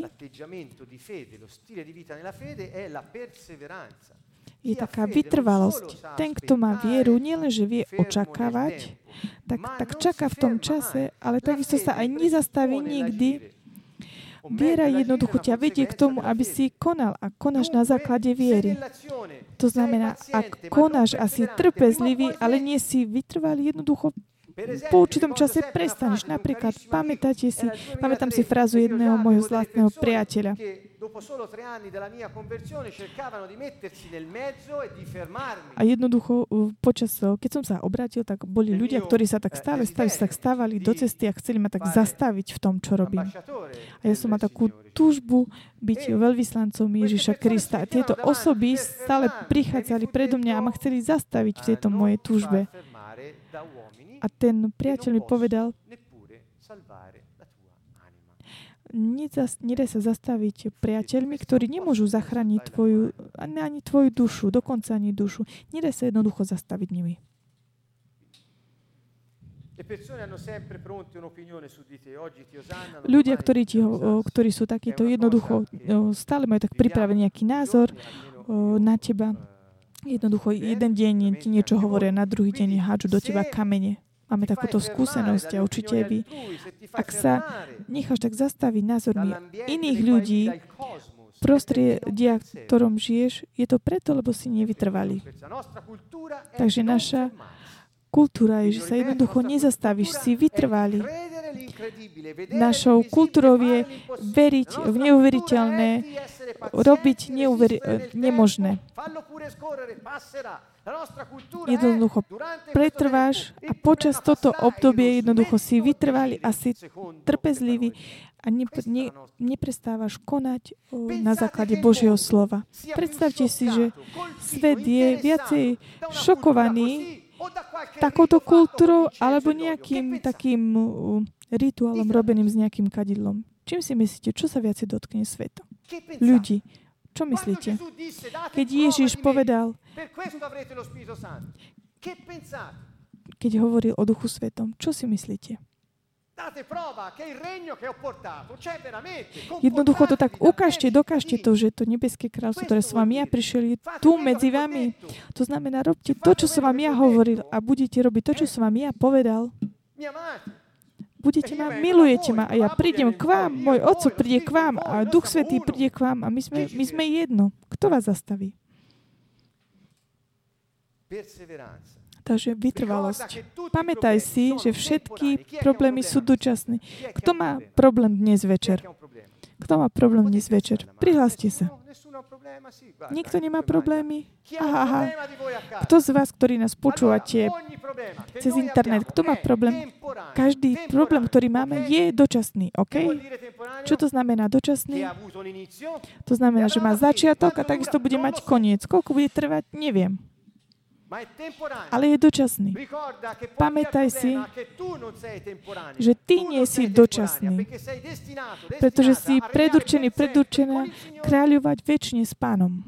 je taká vytrvalosť. Ten, kto má vieru, nielenže vie očakávať, tak, tak čaká v tom čase, ale takisto sa aj nezastaví nikdy. Viera jednoducho ťa vedie k tomu, aby si konal a konáš na základe viery. To znamená, ak konáš a si trpezlivý, ale nie si vytrvalý, jednoducho po určitom čase prestaneš. Napríklad, pamätáte si, pamätám si frázu jedného môjho zlatného priateľa. A jednoducho, počas, keď som sa obrátil, tak boli ľudia, ktorí sa tak stále stali, sa tak stávali do cesty a chceli ma tak zastaviť v tom, čo robím. A ja som mal takú túžbu byť veľvyslancom Ježiša Krista. A tieto osoby stále prichádzali predo mňa a ma chceli zastaviť v tejto mojej túžbe. A ten priateľ mi povedal, nedá sa zastaviť priateľmi, ktorí nemôžu zachrániť tvoju, ani tvoju dušu, dokonca ani dušu. Nedá sa jednoducho zastaviť nimi. Ľudia, ktorí, ti, ktorí sú takíto jednoducho, stále majú tak pripravený nejaký názor na teba. Jednoducho, jeden deň ti niečo hovoria, na druhý deň hádžu do teba kamene. Máme takúto skúsenosť a určite by, ak sa necháš tak zastaviť názormi iných ľudí, prostredia, v ktorom žiješ, je to preto, lebo si nevytrvalý. Takže naša kultúra je, že sa jednoducho nezastavíš, si vytrvalý. Našou kultúrou je veriť v neuveriteľné, robiť neuveri- nemožné. Jednoducho pretrváš a počas toto obdobie jednoducho si vytrvalý a si trpezlivý a ne, ne, neprestávaš konať o, na základe Božieho slova. Predstavte si, že svet je viacej šokovaný takouto kultúrou alebo nejakým takým uh, rituálom robeným s nejakým kadidlom. Čím si myslíte, čo sa viacej dotkne sveta? Ľudí. Čo myslíte? Keď Ježiš povedal, keď hovoril o Duchu Svetom, čo si myslíte? Jednoducho to tak ukážte, dokážte to, že to nebeské kráľstvo, ktoré som vám ja prišiel, je tu medzi vami. To znamená, robte to, čo som vám ja hovoril a budete robiť to, čo som vám ja povedal. Budete ma, milujete ma a ja prídem k vám, môj Otco príde k vám a Duch Svätý príde k vám a my sme, my sme jedno. Kto vás zastaví? Takže vytrvalosť. Pamätaj si, že všetky problémy sú dočasné. Kto má problém dnes večer? Kto má problém dnes večer? Prihláste sa. Nikto nemá problémy? Aha, aha. Kto z vás, ktorí nás počúvate cez internet, kto má problém? Každý problém, ktorý máme, je dočasný, OK? Čo to znamená dočasný? To znamená, že má začiatok a takisto bude mať koniec. Koľko bude trvať, neviem. Ale je dočasný. Pamätaj si, že ty nie si dočasný, pretože si predurčený, predurčená kráľovať večne s Pánom.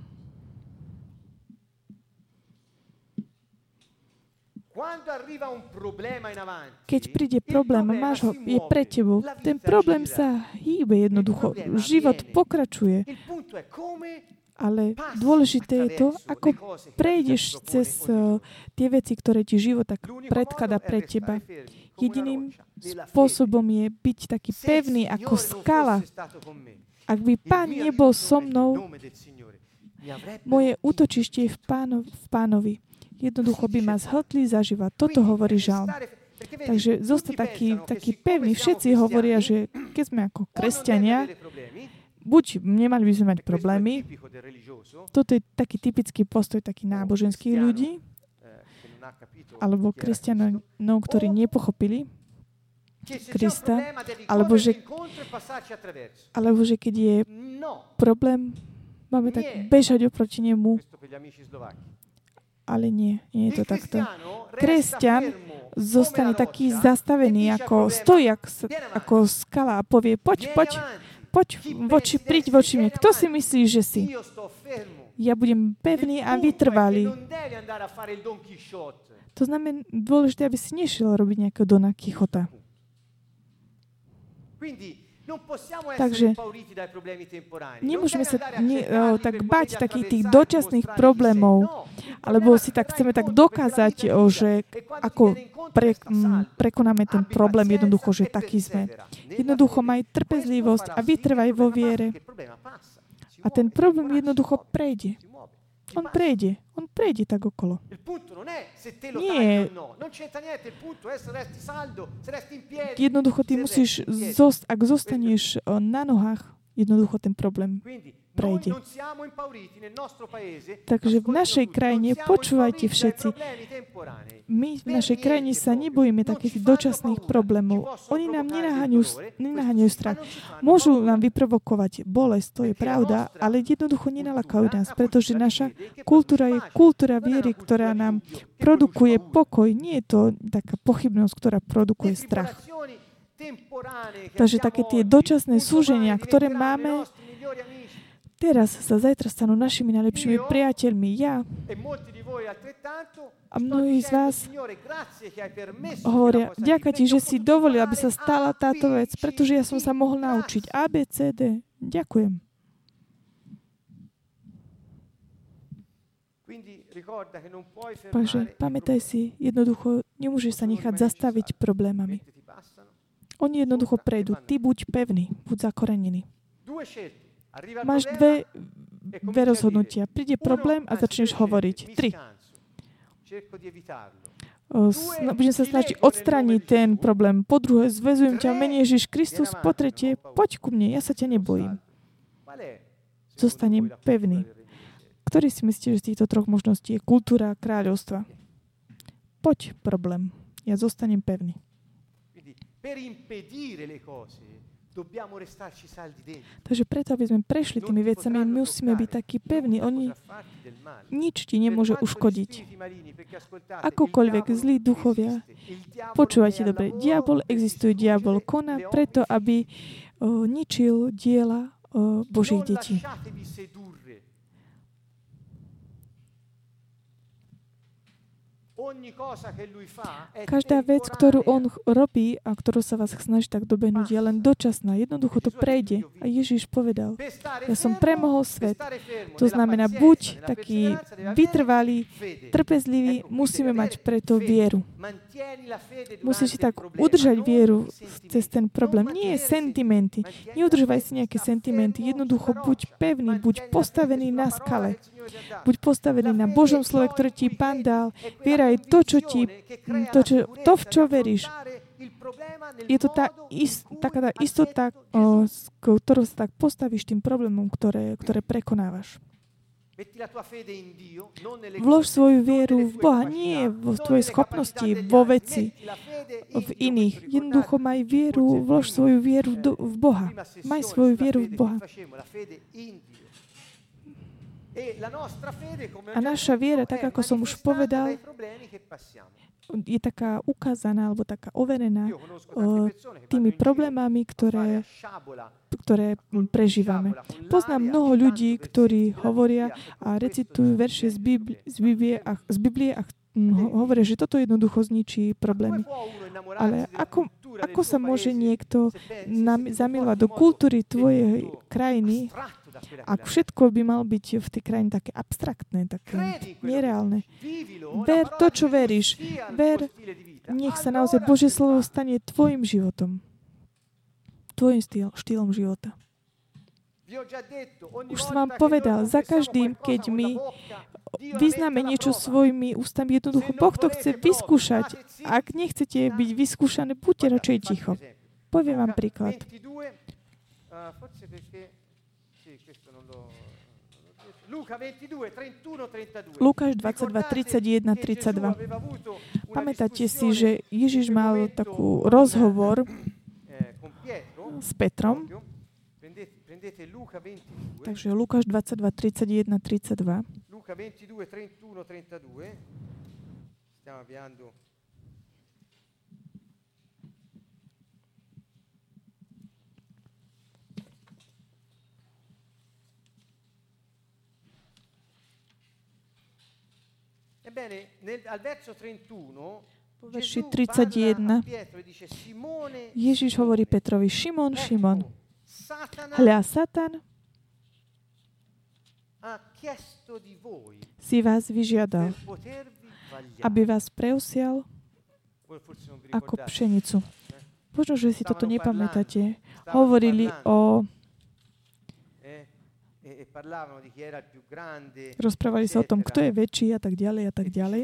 Keď príde problém a máš ho, je pre tebou, ten problém sa hýbe jednoducho. Život pokračuje. Ale dôležité je to, ako prejdeš cez uh, tie veci, ktoré ti život tak predkladá pre teba. Jediným spôsobom je byť taký pevný ako skala. Ak by Pán nebol so mnou, moje útočište je v, páno, v Pánovi. Jednoducho by ma zhltli zaživa. Toto hovorí žalm. Takže zostať taký, taký pevný. Všetci hovoria, že keď sme ako kresťania, buď nemali by sme mať problémy, toto je taký typický postoj takých náboženských ľudí, alebo kresťanov, ktorí nepochopili Krista, alebo že, alebo že keď je problém, máme tak bežať oproti nemu. Ale nie, nie je to takto. Kresťan zostane taký zastavený, ako stojí ako skala a povie, poď, poď, poď, voči, príď voči mne. Kto si myslí, že si? Ja budem pevný a vytrvalý. To znamená dôležité, aby si nešiel robiť nejakého Dona Kichota. Takže nemôžeme sa ne, o, tak bať takých tých dočasných problémov, alebo si tak chceme tak dokázať, o, že ako pre, m, prekonáme ten problém jednoducho, že taký sme. Jednoducho maj trpezlivosť a vytrvaj vo viere. A ten problém jednoducho prejde. On prejde. On prejde tak okolo. Nie. Jednoducho ty musíš, zost, ak zostaneš na nohách, jednoducho ten problém prejde. Takže v našej krajine, počúvajte všetci, my v našej krajine sa nebojíme takých dočasných problémov. Oni nám nenaháňajú strach. Môžu nám vyprovokovať bolesť, to je pravda, ale jednoducho nenalakajú nás, pretože naša kultúra je kultúra viery, ktorá nám produkuje pokoj. Nie je to taká pochybnosť, ktorá produkuje strach. Takže také tie dočasné súženia, ktoré máme, teraz sa zajtra stanú našimi najlepšími priateľmi. Ja a mnohí z vás hovoria, ďakujem ti, že si dovolil, aby sa stala táto vec, pretože ja som sa mohol naučiť A, B, C, D. Ďakujem. Takže pamätaj si, jednoducho nemôžeš sa nechať zastaviť problémami. Oni jednoducho prejdú. Ty buď pevný, buď zakorenený. Máš dve, dve rozhodnutia. Príde problém a začneš hovoriť. Tri. Sna- budem sa snažiť odstrániť ten problém. Po druhé, zväzujem ťa v mene Ježiš Kristus. Po tretie, poď ku mne, ja sa ťa nebojím. Zostanem pevný. Ktorý si myslíte, že z týchto troch možností je kultúra kráľovstva? Poď problém, ja zostanem pevný. Takže preto, aby sme prešli tými vecami, musíme byť takí pevní. Oni nič ti nemôže uškodiť. Akokoľvek zlí duchovia, počúvajte dobre, diabol existuje, diabol koná preto, aby o, ničil diela o, Božích detí. Každá vec, ktorú on robí a ktorú sa vás snaží tak dobehnúť, je len dočasná. Jednoducho to prejde. A Ježiš povedal, ja som premohol svet. To znamená, buď taký vytrvalý, trpezlivý, musíme mať preto vieru. Musíš si tak udržať vieru cez ten problém. Nie sentimenty. Neudržovaj si nejaké sentimenty. Jednoducho buď pevný, buď postavený na skale. Buď postavený na Božom slove, ktoré ti Pán dal. Viera je to, čo ti, to, čo, to v čo veríš. Je to tá, ist, taká tá istota, o, s ktorou sa tak postavíš tým problémom, ktoré, ktoré prekonávaš. Vlož svoju vieru v Boha, nie vo tvojej schopnosti, vo veci, v iných. Jednoducho maj vieru, vlož svoju vieru do, v Boha. Maj svoju vieru v Boha. A naša viera, tak ako som už povedal, je taká ukázaná alebo taká overená o, tými problémami, ktoré, ktoré prežívame. Poznám mnoho ľudí, ktorí hovoria a recitujú verše z Biblie, z Biblie a, z Biblie a hovoria, že toto jednoducho zničí problémy. Ale ako, ako sa môže niekto zamilovať do kultúry tvojej krajiny, ak všetko by mal byť v tej krajine také abstraktné, také nereálne. Ver to, čo veríš. Ver, nech sa naozaj Božie slovo stane tvojim životom. Tvojim štýl, štýlom života. Už som vám povedal, za každým, keď my vyznáme niečo svojimi ústami, jednoducho Boh to chce vyskúšať. Ak nechcete byť vyskúšané, buďte radšej ticho. Poviem vám príklad. Lukáš dvadsaťdva, tridsaťjeden, tridsaťdva. Pamätáte si, že Ježiš mal takú rozhovor s Petrom. Takže Lukáš dvadsaťdva, tridsaťjeden, tridsaťdva. Luca ventidue, trentuno, trentadue. Stiamo avviando. Ebbene, nel, al verso trentuno po verši tridsaťjeden Ježiš hovorí Petrovi: Šimon, Šimon, hľa, Satan si vás vyžiadal, aby vás preusial ako pšenicu. Možno, že si toto nepamätáte. Hovorili o... Rozprávali sa o tom, kto je väčší a tak ďalej a tak ďalej.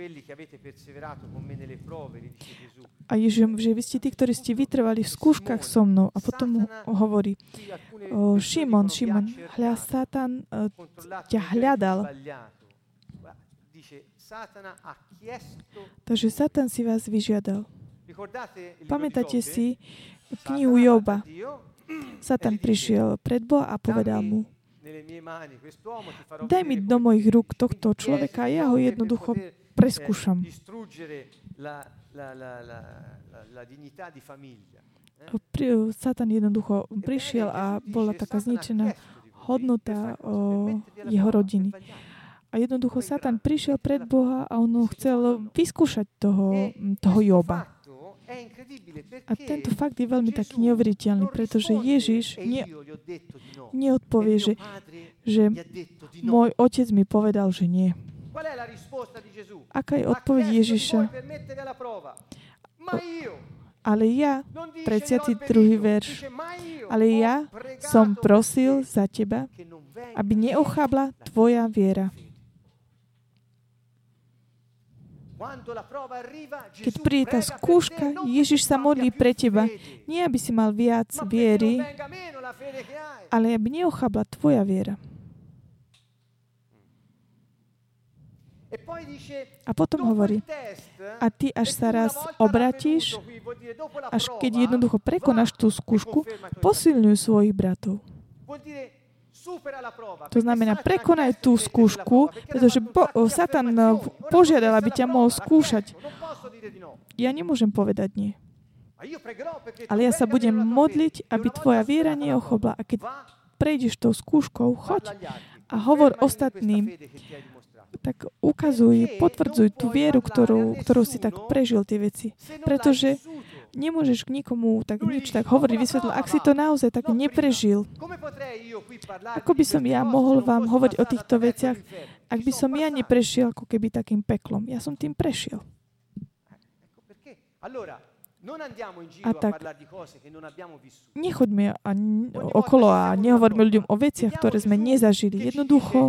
A Ježiš, že vy ste tí, ktorí ste vytrvali v skúškach so mnou. A potom hovorí: o, Šimon, Šimon, hľa, Satan uh, ťa hľadal. Takže Satan si vás vyžiadal. Pamätáte si knihu Joba? Satan prišiel pred Boha a povedal mu: daj mi do mojich rúk tohto človeka a ja ho jednoducho preskúšam. Satan jednoducho prišiel a bola taká zničená hodnota o, jeho rodiny. A jednoducho Satan prišiel pred Boha a on chcel vyskúšať toho, toho Joba. A tento fakt je veľmi taký neuveriteľný, pretože Ježiš ne, neodpovie, že, že môj otec mi povedal, že nie. Aká je odpoveď Ježiša? Ale ja, tridsiaty druhý verš, ale ja som prosil za teba, aby neochabla tvoja viera. Keď príde tá skúška, Ježiš sa modlí pre teba. Nie, aby si mal viac viery, ale aby neochabla tvoja viera. A potom hovorí: a ty, až sa raz obratíš, až keď jednoducho prekonáš tú skúšku, posilňuj svojich bratov. To znamená, prekonaj tú skúšku, pretože bo, Satan požiadal, aby ťa mohol skúšať. Ja nemôžem povedať nie. Ale ja sa budem modliť, aby tvoja viera neochobla. A keď prejdeš tou skúškou, choď a hovor ostatným. Tak ukazuj, potvrdzuj tú vieru, ktorú, ktorú si tak prežil tie veci. Pretože nemôžeš k nikomu tak nič tak hovoriť, vysvetliť, ak si to naozaj tak neprežil. Ako by som ja mohol vám hovoriť o týchto veciach, ak by som ja neprešiel ako keby takým peklom. Ja som tým prešiel. A tak nechoďme okolo a nehovoríme ľuďom o veciach, ktoré sme nezažili. Jednoducho,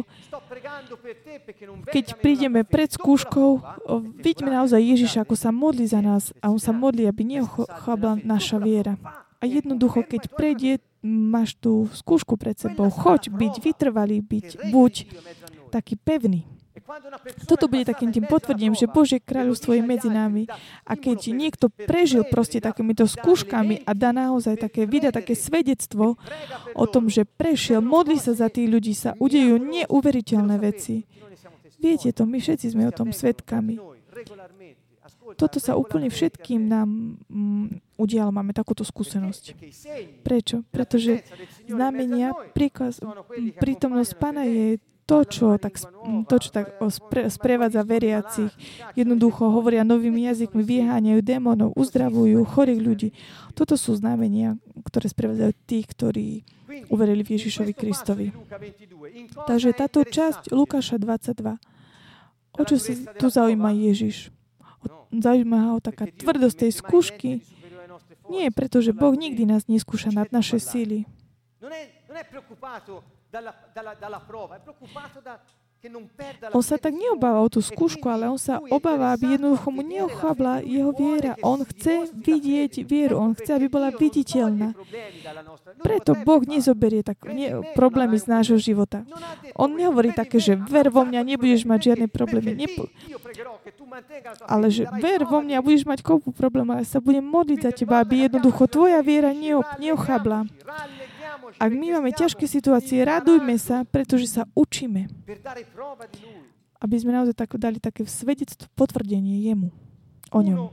keď prídeme pred skúškou, vidíme naozaj Ježiša, ako sa modlí za nás a on sa modlí, aby neochabla naša viera. A jednoducho, keď prejde, máš tú skúšku pred sebou, choď byť vytrvalý, byť, buď taký pevný. Toto bude takým tým potvrdením, že Božie kráľovstvo je medzi nami. A keď niekto prežil proste takýmito skúškami a dá naozaj také, vydá také svedectvo o tom, že prešiel, modlí sa za tých ľudí, sa udejú neuveriteľné veci. Viete to, my všetci sme o tom svedkami. Toto sa úplne všetkým nám um, udialo, máme takúto skúsenosť. Prečo? Pretože znamenia, príkaz, prítomnosť Pána je to, čo tak, to, čo tak spre, sprevádza veriacich. Jednoducho hovoria novými jazykmi, vyháňajú démonov, uzdravujú chorých ľudí. Toto sú znamenia, ktoré sprevádzajú tých, ktorí uverili v Ježišovi Kristovi. Takže táto časť Lukáša dvadsaťdva. O čo si tu zaujíma Ježiš? Zaujíma ho taká tvrdosť tej skúšky. Nie, pretože Boh nikdy nás neskúša nad naše síly. On sa tak neobáva o tú skúšku, ale on sa obáva, aby jednoducho mu neochabla jeho viera. On chce vidieť vieru, on chce, aby bola viditeľná. Preto Boh nezoberie tak, nie, problémy z nášho života. On nehovorí také, že ver vo mňa, nebudeš mať žiadne problémy. Nepo... Ale že ver vo mňa, budeš mať kopu problémov, ale sa budem modliť za teba, aby jednoducho tvoja viera neochabla. Ak my máme ťažké situácie, radujme sa, pretože sa učíme. Aby sme naozaj tak dali také svedectvo, potvrdenie jemu, o ňom.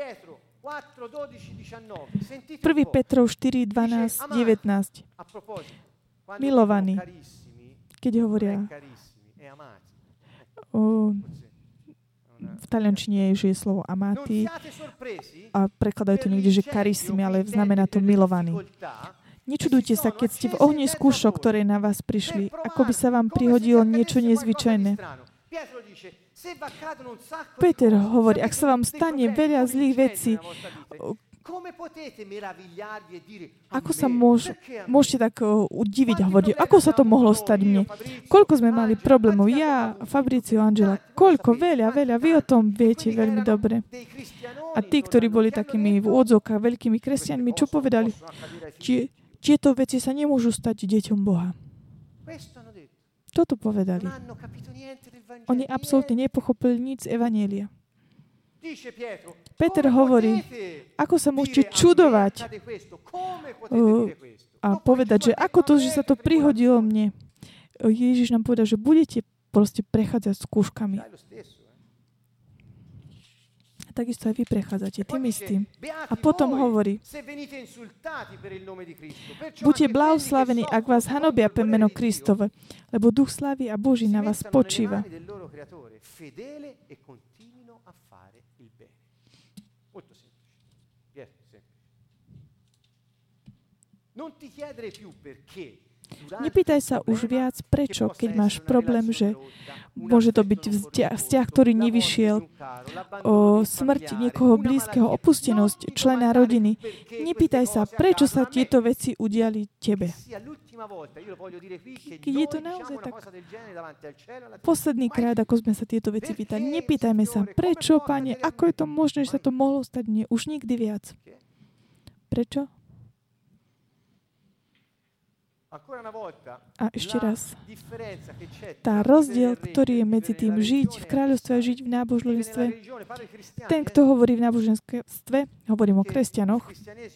prvý Petrov štyri, dvanásť, devätnásť. Milovaní, keď hovoria o, v taliančine je, že je slovo amati a prekladajú to niekde, že carissimi, ale znamená to milovaní. Nečudujte sa, keď ste v ohni skúšok, ktoré na vás prišli, ako by sa vám prihodilo niečo nezvyčajné. Peter hovorí, ak sa vám stane veľa zlých vecí, ako sa môž, môžete tak uh, udiviť a hovoriť, ako sa to mohlo stať mne? Koľko sme mali problémov? Ja, Fabricio, Angela, koľko? Veľa, veľa. Vy o tom viete veľmi dobre. A tí, ktorí boli takými v úvodzovkách veľkými kresťanmi, čo povedali? Či, tieto veci sa nemôžu stať deťom Boha. Toto povedali. Oni absolútne nepochopili nič z Evanjelia. Peter hovorí, ako sa môžete čudovať uh, a povedať, že ako to, že sa to prihodilo mne. Ježiš nám povedal, že budete proste prechádzať skúškami. Takisto aj vy prechádzate tým istým. A potom hovorí, buďte blahoslavení, ak vás hanobia pre meno Kristove, lebo Duch slávy a Boží na vás spočíva. Nepýtaj sa už viac, prečo, keď máš problém, že môže to byť vzťah, vzťah ktorý nevyšiel, o smrť niekoho blízkeho, opustenosť člena rodiny. Nepýtaj sa, prečo sa tieto veci udiali tebe. Keď je to naozaj tak posledný krát, ako sme sa tieto veci pýtali, nepýtajme sa, prečo, Pane, ako je to možné, že sa to mohlo stať mne už nikdy viac. Prečo? A ešte raz, tá rozdiel, ktorý je medzi tým žiť v kráľovstve a žiť v náboženstve, ten, kto hovorí v náboženstve, hovorím o kresťanoch,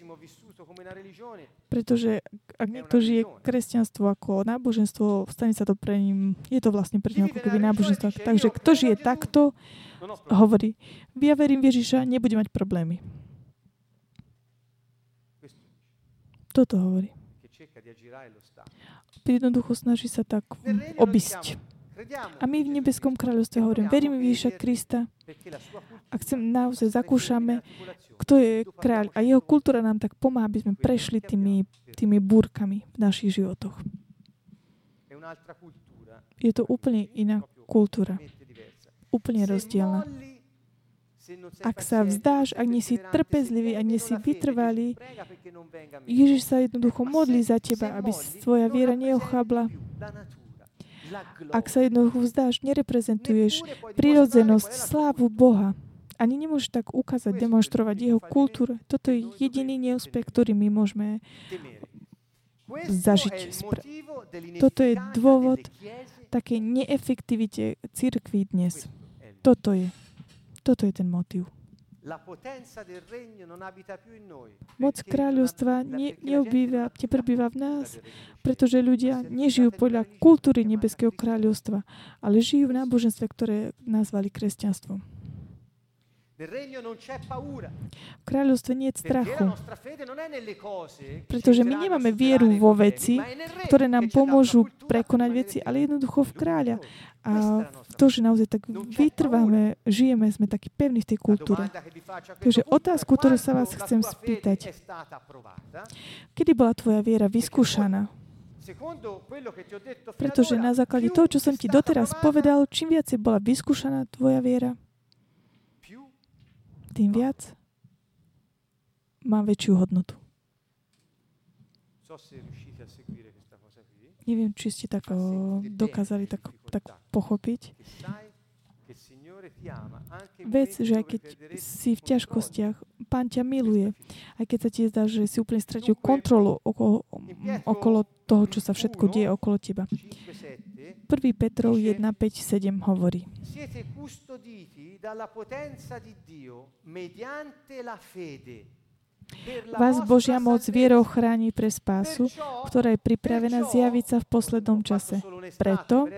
pretože ak niekto žije kresťanstvo ako náboženstvo, stane sa to pre ním, je to vlastne pre ním ako keby náboženstvo. Takže kto žije takto, hovorí, ja verím v Ježiša, nebudem mať problémy. Toto hovorí. Jednoducho snaží sa tak obísť. A my v nebeskom kráľovstve hovorím, veríme v Ježiša Krista a chcem naozaj zakúšame, kto je kráľ. A jeho kultúra nám tak pomáha, aby sme prešli tými, tými búrkami v našich životoch. Je to úplne iná kultúra. Úplne rozdielna. Ak sa vzdáš, ak nie si trpezlivý, ak nie si vytrvalý, Ježiš sa jednoducho modlí za teba, aby tvoja viera neochabla. Ak sa jednoducho vzdáš, nereprezentuješ prirodzenosť, slávu Boha. Ani nemôžeš tak ukázať, demonštrovať jeho kultúru. Toto je jediný neúspech, ktorý my môžeme zažiť. Toto je dôvod také neefektivite cirkví dnes. Toto je. Toto je ten motiv. Moc kráľovstva ne, neobýva, neprebýva v nás, pretože ľudia nežijú podľa kultúry nebeského kráľovstva, ale žijú v náboženstve, ktoré nazvali kresťanstvom. V kráľovstve nie je strachu, pretože my nemáme vieru vo veci, ktoré nám pomôžu prekonať veci, ale jednoducho v kráľa. A to, že naozaj tak vytrváme, žijeme, sme takí pevní v tej kultúre. Takže otázku, ktorú sa vás chcem spýtať. Kedy bola tvoja viera vyskúšaná? Pretože na základe toho, čo som ti doteraz povedal, čím viacej bola vyskúšaná tvoja viera, tým viac má väčšiu hodnotu. Neviem, či ste tak o, dokázali tak, tak pochopiť. Vec, že aj keď si v ťažkostiach, Pán ťa miluje. Aj keď sa ti zdá, že si úplne stratil kontrolu okolo, okolo toho, čo sa všetko deje okolo teba. prvý Petrov jeden, päť, sedem hovorí. Siete custoditi dalla potenza di Dio mediante la fede. Vás Božia moc vierou chráni pre spásu, ktorá je pripravená zjaviť sa v poslednom čase. Preto,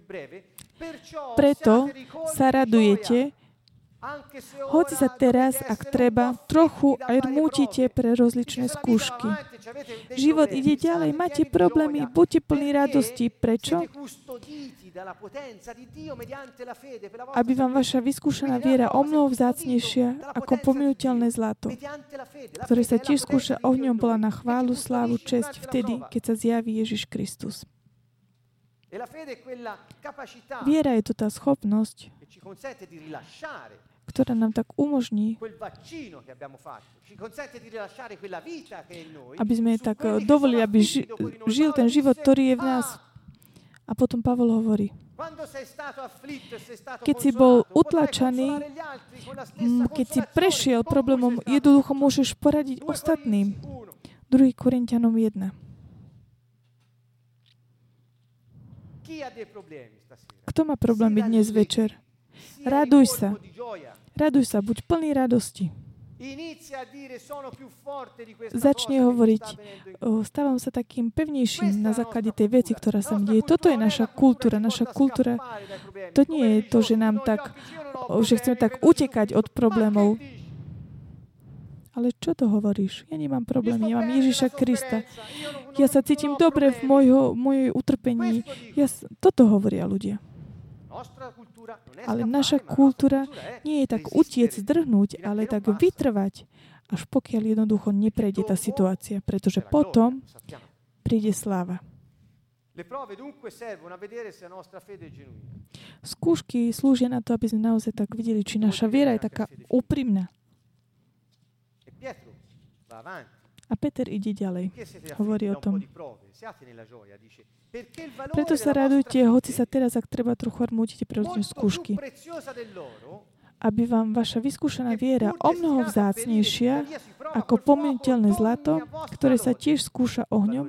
preto sa radujete, hoci sa teraz, ak treba, trochu aj rmútite pre rozličné skúšky. Život ide ďalej, máte problémy, buďte plní radosti. Prečo? Aby vám vaša vyskúšaná viera o mnoho vzácnejšia ako pominuteľné zlato, ktoré sa tiež skúša ohňom, bola na chválu, slávu, česť vtedy, keď sa zjaví Ježiš Kristus. Viera je to tá schopnosť, ktorá nám tak umožní, aby sme tak dovolili, aby ži, žil ten život, ktorý je v nás. A potom Pavol hovorí, keď si bol utlačaný, keď si prešiel problémom, jednoducho môžeš poradiť ostatným. druhý Korinťanom jeden. Kto má problémy dnes večer? Raduj sa. Raduj sa, buď plný radosti. Začne hovoriť, stávam sa takým pevnejším na základe tej veci, ktorá sa mi deje. Toto je naša kultúra. Naša kultúra, to nie je to, že nám tak, že chceme tak utekať od problémov. Ale čo to hovoríš? Ja nemám problémy, ja mám Ježiša Krista. Ja sa cítim dobre v mojho, mojej utrpení. Ja, toto hovoria ľudia. Ale naša kultúra nie je tak utiec, zdrhnúť, ale tak vytrvať, až pokiaľ jednoducho neprejde tá situácia, pretože potom príde sláva. Skúšky slúžia na to, aby sme naozaj tak videli, či naša viera je taká úprimná. A Peter ide ďalej. Hovorí o tom. Preto sa radujte, hoci sa teraz, ak treba, trochu armútite pre rozličné skúšky. Aby vám vaša vyskúšaná viera o mnoho vzácnejšia ako pominuteľné zlato, ktoré sa tiež skúša ohňom,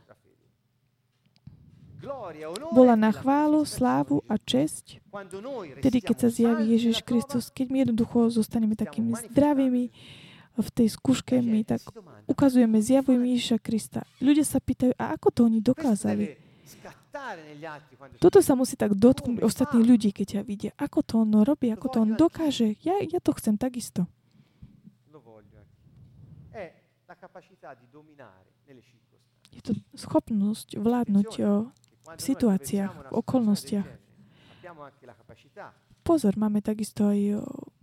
bola na chválu, slávu a česť, tedy keď sa zjaví Ježiš Kristus, keď my jednoducho zostaneme takými zdravými, v tej skúške my tak ukazujeme, zjavujeme Ježiša Krista. Ľudia sa pýtajú, a ako to oni dokázali? Toto sa musí tak dotknúť ostatných ľudí, keď ťa vidia. Ako to on robí, ako to on dokáže? Ja, ja to chcem takisto. Je to schopnosť vládnuť o, v situáciách, v okolnostiach. Pozor, máme takisto aj o,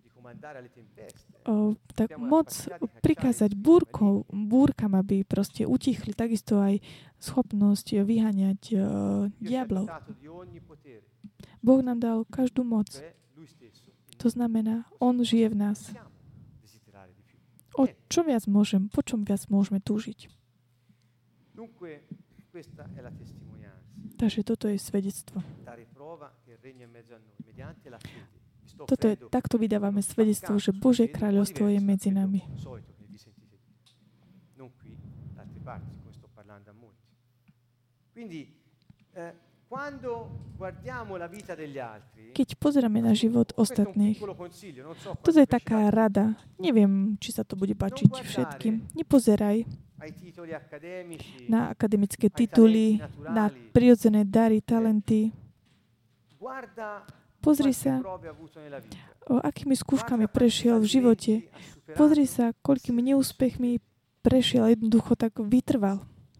O, tak moc prikázať búrkov, búrkam, aby proste utichli, takisto aj schopnosť vyháňať o, diablov. Boh nám dal každú moc. To znamená, On žije v nás. O čo viac môžem, po čom viac môžeme túžiť? Takže toto je svedectvo. Toto je, takto vydávame svedectvo, že Božie kráľovstvo je medzi nami. Keď pozeráme na život ostatných, toto je taká rada. Neviem, či sa to bude páčiť všetkým. Nepozeraj na akademické tituly, na prirodzené dary, talenty. Pozri sa, o akými skúškami prešiel v živote. Pozri sa, koľkými neúspechmi prešiel, jednoducho tak vytrval.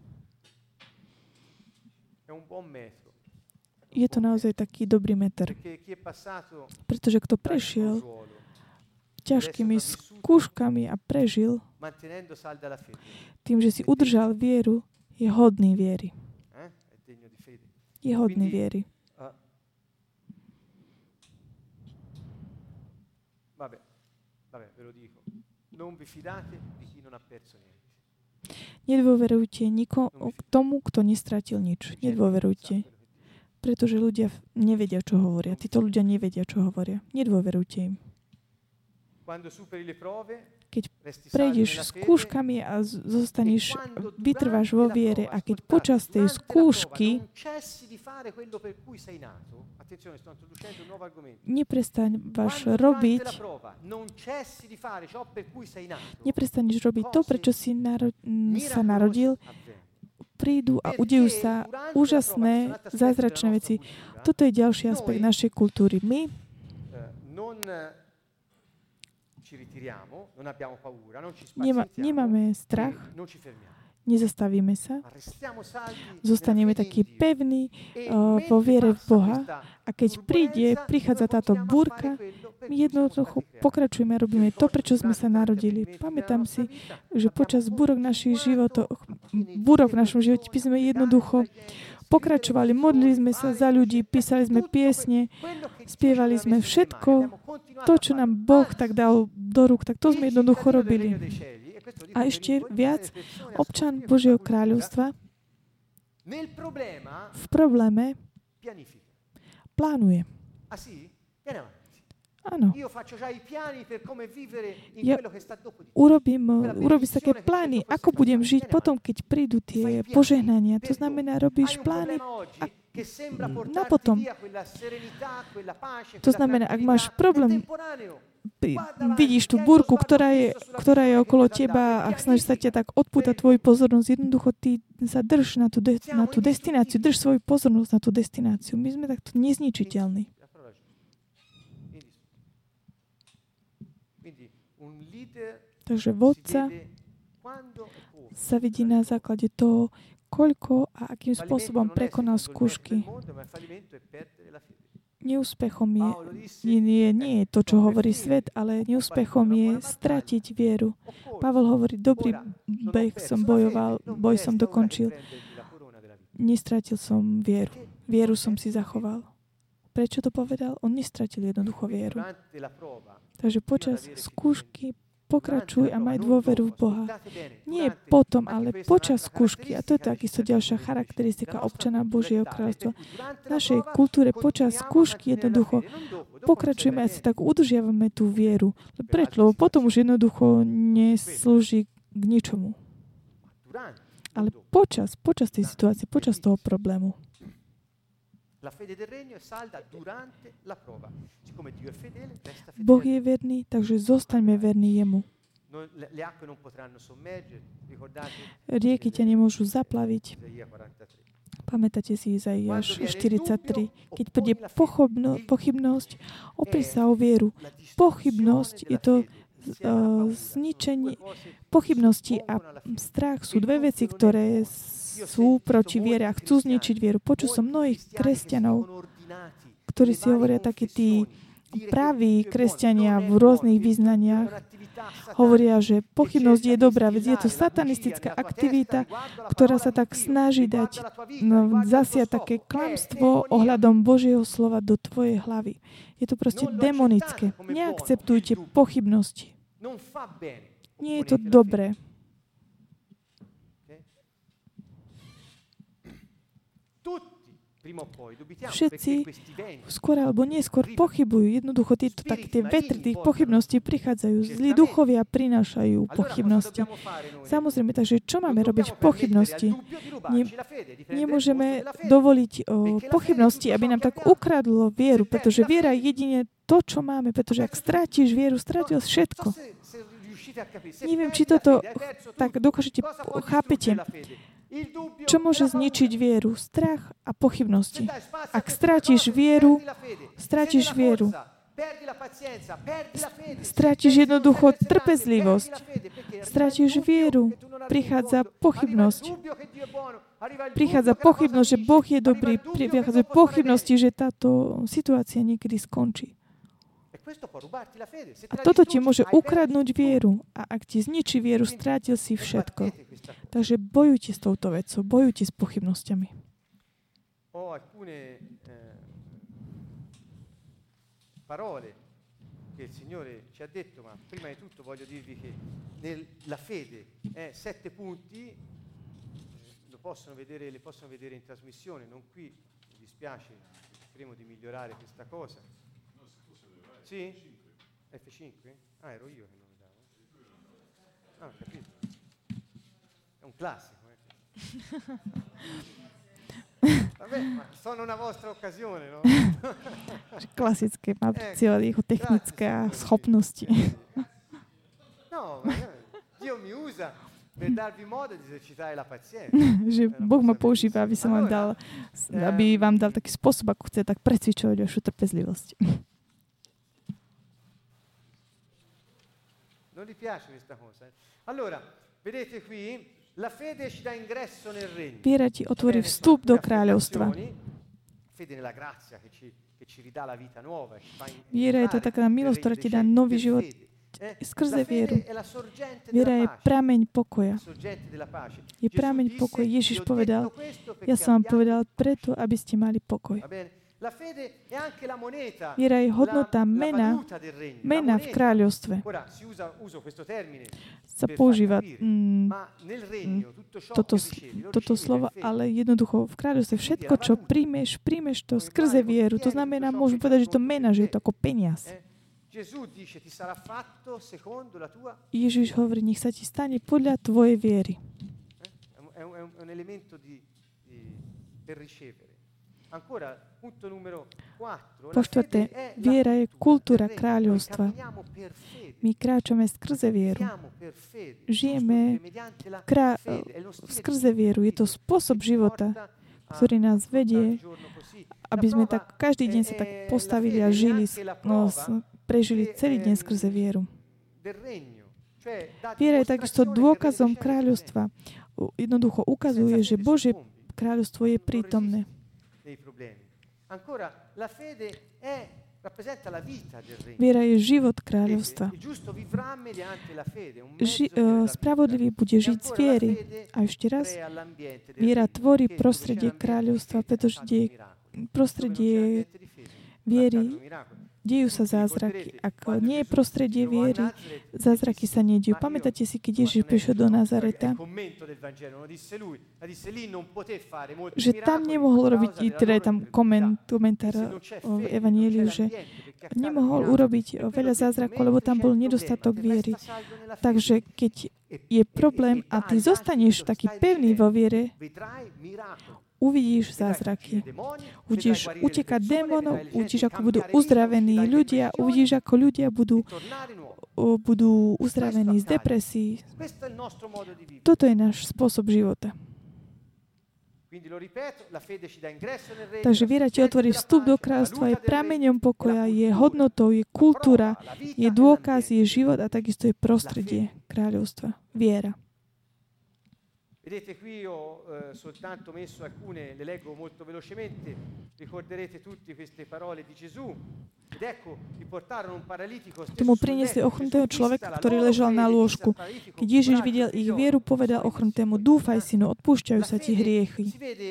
Je to naozaj taký dobrý meter. Pretože kto prešiel ťažkými skúškami a prežil, tým, že si udržal vieru, je hodný viery. Je hodný viery. Vabbè, vabbè, ve lo dico. Non vi fidate di chi non ha perso niente. Nedôverujte nikomu k tomu, kto nestratil nič. Nedôverujte. Pretože ľudia nevedia, čo hovoria. Títo ľudia nevedia, čo hovoria. Nedôverujte im. Keď prejdeš skúškami a zostaneš, vytrváš vo viere a keď počas tej skúšky neprestávaš robiť neprestaneš robiť to, prečo si naro- sa narodil, prídu a udejú sa úžasné, zázračné veci. Toto je ďalší aspekt našej kultúry. My Nema, nemáme strach, nezastavíme sa, zostaneme takí pevní uh, vo viere v Boha a keď príde, prichádza táto búrka, my jednoducho pokračujeme a robíme to, prečo sme sa narodili. Pamätám si, že počas búrok našich životov, búrok v našom živote by sme jednoducho pokračovali, modlili sme sa za ľudí, písali sme piesne, spievali sme všetko, to, čo nám Boh tak dal do rúk, tak to sme jednoducho robili. A ešte viac, občan Božieho kráľovstva v probléme plánuje. Áno. Ja urobím, urobím také plány, ako budem žiť potom, keď prídu tie požehnania. To znamená, robíš plány a na potom. To znamená, ak máš problém, vidíš tú búrku, ktorá je, ktorá je okolo teba a snaží sa ťa tak odpútať tvoju pozornosť, jednoducho ty sa drž na tú, de- na tú destináciu, drž svoju pozornosť na tú destináciu. My sme takto nezničiteľní. Takže vodca sa vidí na základe toho, koľko a akým spôsobom prekonal skúšky. Neúspechom je, nie, nie je to, čo hovorí svet, ale neúspechom je stratiť vieru. Pavel hovorí, dobrý beh som bojoval, boj som dokončil. Nestratil som vieru. Vieru som si zachoval. Prečo to povedal? On nestratil jednoducho vieru. Takže počas skúšky pokračuj a maj dôveru v Boha. Nie potom, ale počas skúšky. A to je takisto ďalšia charakteristika občana Božieho kráľovstva. V našej kultúre počas skúšky jednoducho pokračujeme a si tak udržiavame tú vieru. Prečo? Lebo potom už jednoducho neslúži k ničomu. Ale počas, počas tej situácie, počas toho problému. Boh je verný, takže zostaňme verní jemu. Rieky ťa nemôžu zaplaviť. Pamätáte si Izaiáš štyridsaťtri. Keď príde pochybno, pochybnosť, opri sa o vieru. Pochybnosť je to uh, zničenie. Pochybnosti a strach sú dve veci, ktoré sú proti viere a chcú zničiť vieru. Počul som mnohých kresťanov, ktorí si hovoria takí tí praví kresťania v rôznych vyznaniach, hovoria, že pochybnosť je dobrá vec. Je to satanistická aktivita, ktorá sa tak snaží dať, no, zasiať také klamstvo ohľadom Božieho slova do tvojej hlavy. Je to proste demonické. Neakceptujte pochybnosti. Nie je to dobré. Všetci skôr alebo neskôr pochybujú. Jednoducho tieto také tie vetry tých pochybností prichádzajú. Zlí duchovia prinášajú pochybnosti. Samozrejme, takže čo máme robiť v pochybnosti? Ne, nemôžeme dovoliť o, pochybnosti, aby nám tak ukradlo vieru, pretože viera je jedine to, čo máme, pretože ak strátiš vieru, strátil všetko. Neviem, či toto tak dokážete, chápete. Čo môže zničiť vieru? Strach a pochybnosti. Ak strátiš vieru, strátiš vieru. Strátiš jednoducho trpezlivosť. Strátiš vieru. Prichádza pochybnosť. Prichádza pochybnosť, že Boh je dobrý. Prichádza pochybnosti, že táto situácia niekedy skončí. A toto ti môže ukradnúť vieru. A ak ti zničí vieru, strátil si všetko. Takže bojujte s touto vecou. Bojujte s pochybnosťami. Che il Signore ci ha detto, ma prima di tutto voglio dirvi che nella fede Eh, sette punti, lo possono vedere, li possono vedere in trasmissione, non qui, mi dispiace, speriamo di migliorare questa cosa. Sì? F cinque? Ah, ero io che non lo davo. Ah, ho capito. È un classico, eh. Vabbè, ma sono una vostra occasione, no? Klasické, má cieľ jeho technické schopnosti. No, Dio mi usa per darvi modo di esercitare la pazienza. Že Boh ma používa, aby som vám dal, aby vám dal taký spôsob, ako chce tak precvičovať vašu trpezlivosť. Non gli piace questa cosa. Allora, vedete qui, la fede ci dà ingresso nel regno. Viera ti otvorí vstup do kráľovstva. Fede nella grazia che ci, che ci ridà la vita nuova. Viera je to taká milosť, ktorá ti dá nový život skrze vieru. Viera je prameň pokoja. Je prameň pokoja. Ježiš povedal, ja som vám povedal preto, aby ste mali pokoj. Viera je hodnota mena, mena v kráľovstve. Sa používa mm, toto, toto slovo, ale jednoducho v kráľovstve všetko, čo príjmeš, príjmeš to skrze vieru. To znamená, môžeme povedať, že to mena, že je to ako peniaz. Ježiš hovorí, nech sa ti stane podľa tvojej viery. Po štvrté, viera je kultúra kráľovstva. My kráčame skrze vieru. Žijeme krá- skrze vieru. Je to spôsob života, ktorý nás vedie, aby sme tak každý deň sa tak postavili a žili, no, prežili celý deň skrze vieru. Viera je takisto dôkazom kráľovstva. Jednoducho ukazuje, že Božie kráľovstvo je prítomné. Viera je život kráľovstva. Ži- uh, spravodlivý bude žiť z viery. A ešte raz, viera tvorí prostredie kráľovstva, pretože je prostredie viery, dejú sa zázraky. Ak nie je prostredie viery, zázraky sa nedejú. Pamätáte si, keď Ježiš prišiel do Nazareta, že tam nemohol robiť, teda je tam koment, komentár v Evanjeliu, že nemohol urobiť veľa zázrakov, lebo tam bol nedostatok viery. Takže keď je problém a ty zostaneš taký pevný vo viere, uvidíš zázraky. Uvidíš utekať démonov, uvidíš, ako budú uzdravení ľudia, uvidíš, ako ľudia budú, budú uzdravení z depresií. Toto je náš spôsob života. Takže viera ti otvorí vstup do kráľovstva, je prameňom pokoja, je hodnotou, je kultúra, je dôkaz, je život a takisto je prostredie kráľovstva. Viera. Vedete qui ho eh, soltanto messo alcune, le leggo molto velocemente, ricorderete tutte queste parole di Gesù. Ed ecco, li portarono un paralitico stesso Tomu priniesli ochrnutého človeka, ktorý ležal na lôžku. Keď Ježiš videl ich vieru, povedal ochrnutému, dúfaj, synu, odpúšťajú sa ti hriechy.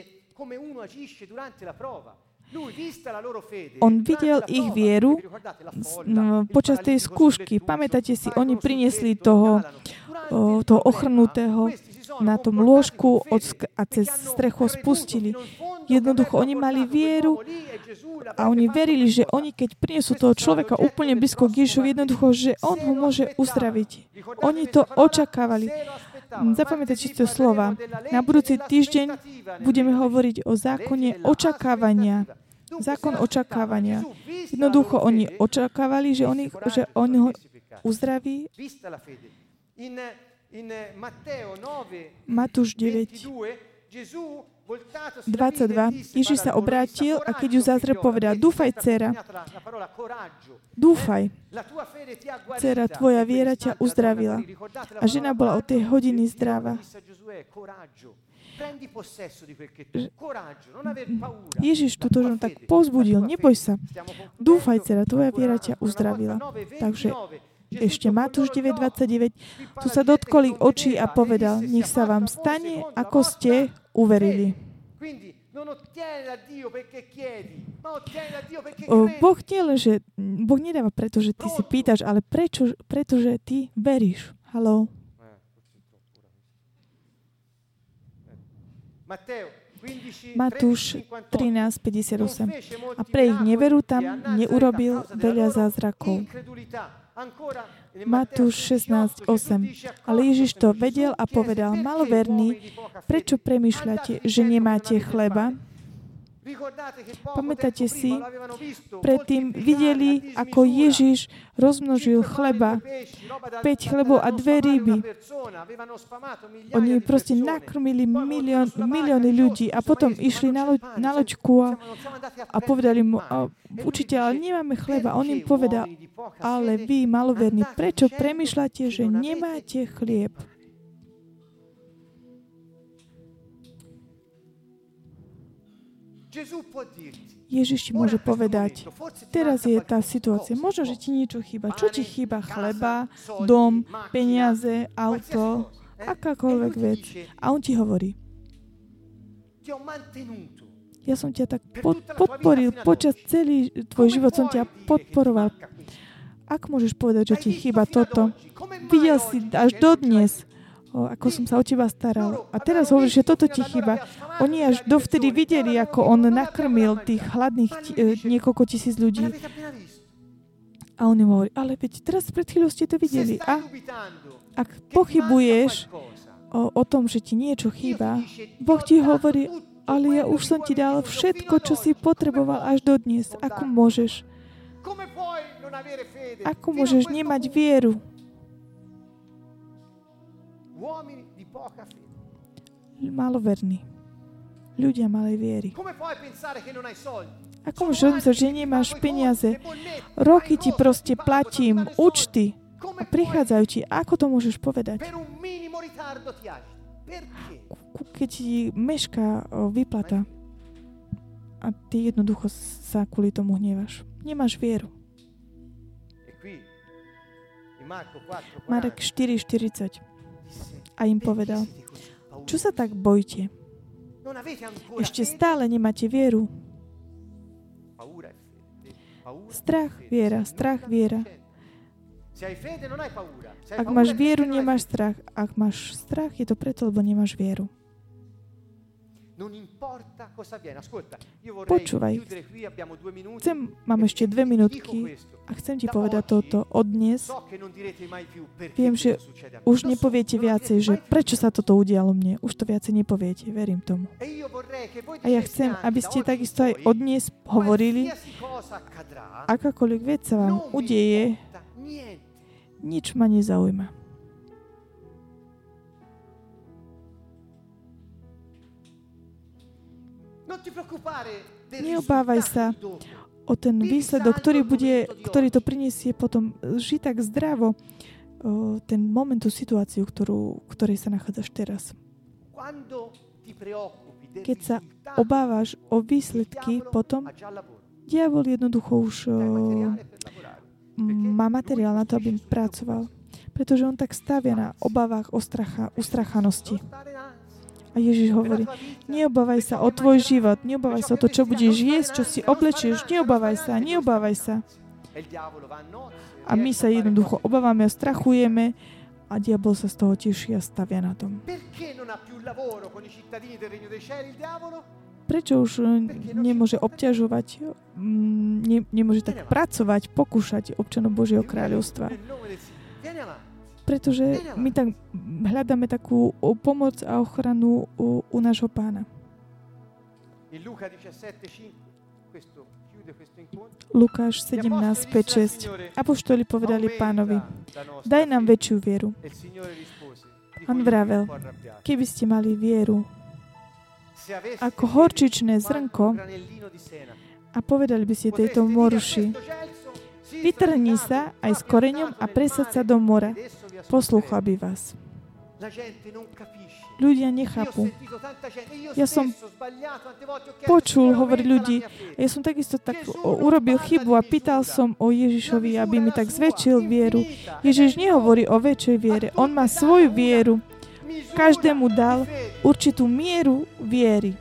On videl ich vieru no, počas tej skúšky. Pamätáte si, oni priniesli toho, o, toho ochrnutého na tom lôžku od sk- a cez strechu spustili. Jednoducho, oni mali vieru a oni verili, že oni, keď prinesú toho človeka úplne blízko k Ježišovi, jednoducho, že on ho môže uzdraviť. Oni to očakávali. Zapamätajte tie slova. Na budúci týždeň budeme hovoriť o zákone očakávania. Zákon očakávania. Jednoducho, oni očakávali, že on, ich, že on ho uzdraví. Matúš deväť, dvadsaťdva. Ježiš sa obrátil a keď ju zazrel, povedal, dúfaj, dcera, dúfaj, dcera, tvoja viera ťa uzdravila. A žena bola od tej hodiny zdravá. Ježiš túto ženu tak povzbudil, neboj sa, dúfaj, dcera, tvoja viera ťa uzdravila. Takže ešte Matúš deväť dvadsaťdeväť, tu sa dotkol ich očí a povedal, nech sa vám stane, ako ste uverili. Boh nie len, že Boh nedáva preto, že ty si pýtaš, ale prečo, pretože ty veríš. Haló. Matúš trinásť päťdesiatosem. A pre ich neveru tam neurobil veľa zázrakov. Matúš šestnásť osem. Ale Ježiš to vedel a povedal: maloverní, prečo premýšľate, že nemáte chleba? Pamätáte si, predtým videli, ako Ježiš rozmnožil chleba, päť chlebov a dve ryby. Oni proste nakrmili milión, milióny ľudí a potom išli na, loď, na loďku a, a povedali mu: učiteľ, nemáme chleba. On im povedal: ale vy, maloverní, prečo premýšľate, že nemáte chlieb? Ježiš ti môže povedať: teraz je tá situácia, možno, že ti niečo chýba. Čo ti chýba? Chleba, dom, peniaze, auto, akákoľvek vec. A on ti hovorí: ja som ťa tak pod, podporil, počas celý tvoj život som ťa podporoval. Ak môžeš povedať, že ti chýba toto? Videl si až dodnes, o, ako som sa o teba staral. A teraz hovoríš, že toto ti chýba. Oni až dovtedy videli, ako on nakrmil tých hladných t- niekoľko tisíc ľudí. A on im hovorí: ale veď teraz pred chvíľou ste to videli. A ak pochybuješ o, o tom, že ti niečo chýba, Boh ti hovorí: ale ja už som ti dal všetko, čo si potreboval až dodnes. Ako môžeš? Ako môžeš nemať vieru? Maloverní. Ľudia malej viery. Ako môžeš rozmýšľať, že nemáš peniaze? Roky ti proste platím, účty. A prichádzajú ti. Ako to môžeš povedať? Keď ti mešká výplata a ty jednoducho sa kvôli tomu hnevaš. Nemáš vieru. Marek štyri štyridsať. A im povedal: čo sa tak bojíte? Ešte stále nemáte vieru. Strach, viera, strach, viera. Ak máš vieru, nemáš strach. Ak máš strach, je to preto, lebo nemáš vieru. Počúvaj. Chcem, mám ešte dve minútky a chcem ti povedať toto. Od dnes viem, že už nepoviete viacej, že prečo sa toto udialo mne. Už to viacej nepoviete. Verím tomu. A ja chcem, aby ste takisto aj od dnes hovorili, akákoľvek vec sa vám udeje, nič ma nezaujíma. Neobávaj sa o ten výsledok, ktorý, bude, ktorý to prinesie potom. Ži tak zdravo o, ten moment, tú situáciu, ktorú, ktorej sa nachádzaš teraz. Keď sa obávaš o výsledky, potom diabol jednoducho už o, má materiál na to, aby pracoval. Pretože on tak stavia na obavách o stracha, ustrachanosti. A Ježiš hovorí: neobávaj sa o tvoj život, neobávaj sa o to, čo budeš jesť, čo si oblečieš, neobávaj sa, neobávaj sa. A my sa jednoducho obávame a strachujeme a diabol sa z toho teší a stavia na tom. Prečo už nemôže obťažovať, ne, nemôže tak pracovať, pokúšať občanov Božieho kráľovstva? Pretože my tak hľadáme takú pomoc a ochranu u, u nášho Pána. Lukáš sedemnásť päť šesť. Apoštoli povedali Pánovi: daj nám väčšiu vieru. On vravel: keby ste mali vieru ako horčičné zrnko a povedali by ste tejto moruši: vytrhni sa aj s koreňom a presaď sa do mora. Poslúchal by vás. Ľudia nechápu. Ja som počul hovoriť ľudí. Ja som takisto tak urobil chybu a pýtal som o Ježišovi, aby mi tak zväčšil vieru. Ježiš nehovorí o väčšej viere. On má svoju vieru. Každému dal určitú mieru viery.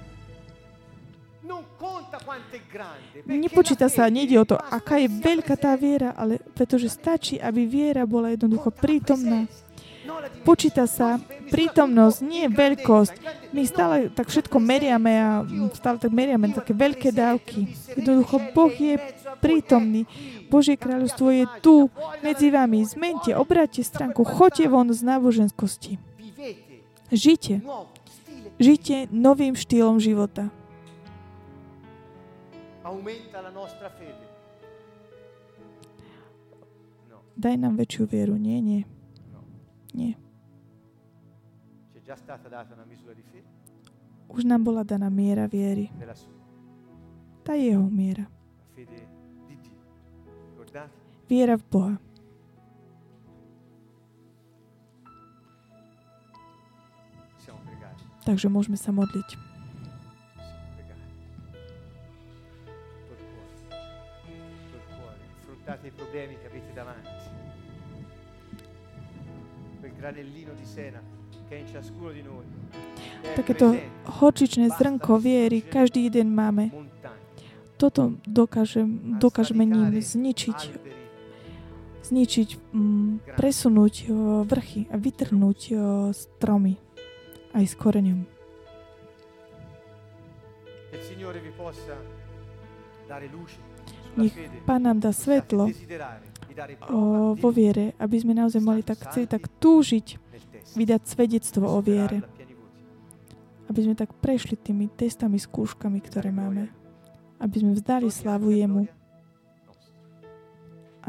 Nepočíta sa, nejde o to, aká je veľká tá viera, ale pretože stačí, aby viera bola jednoducho prítomná. Počíta sa prítomnosť, nie veľkosť. My stále tak všetko meriame a stále tak meriame také veľké dávky. Jednoducho, Boh je prítomný. Božie kráľovstvo je tu, medzi vami. Zmente, obráťte stránku, choďte von z náboženskosti. Žite. Žite novým štýlom života. Daj nám väčšiu vieru. Nie, nie. Nie. Už nám bola daná miera viery. Tá je jeho miera. Viera v Boha. Takže môžeme sa modliť. Affrontate i problemi che avete davanti. Quel granellino di sena che è in ciascuno di noi. Takéto horčičné zrnko viery každý jeden máme. Toto dokáže, dokážeme ním zničiť, zničiť, m, presunúť o, vrchy a vytrhnúť o, stromy aj s koreňom. Nech Pán nám dá svetlo o, vo viere, aby sme naozaj mohli tak chceli tak túžiť vydať svedectvo o viere. Aby sme tak prešli tými testami, skúškami, ktoré máme. Aby sme vzdali slávu jemu. A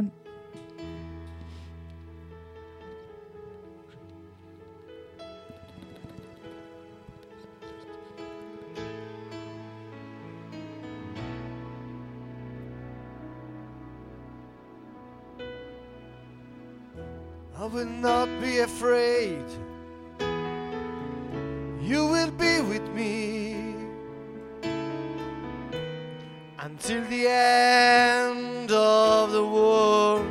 I will not be afraid. You will be with me until the end of the world.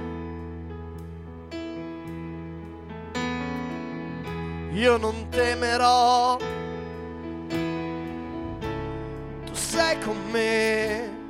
Io non temerò, tu sei con me.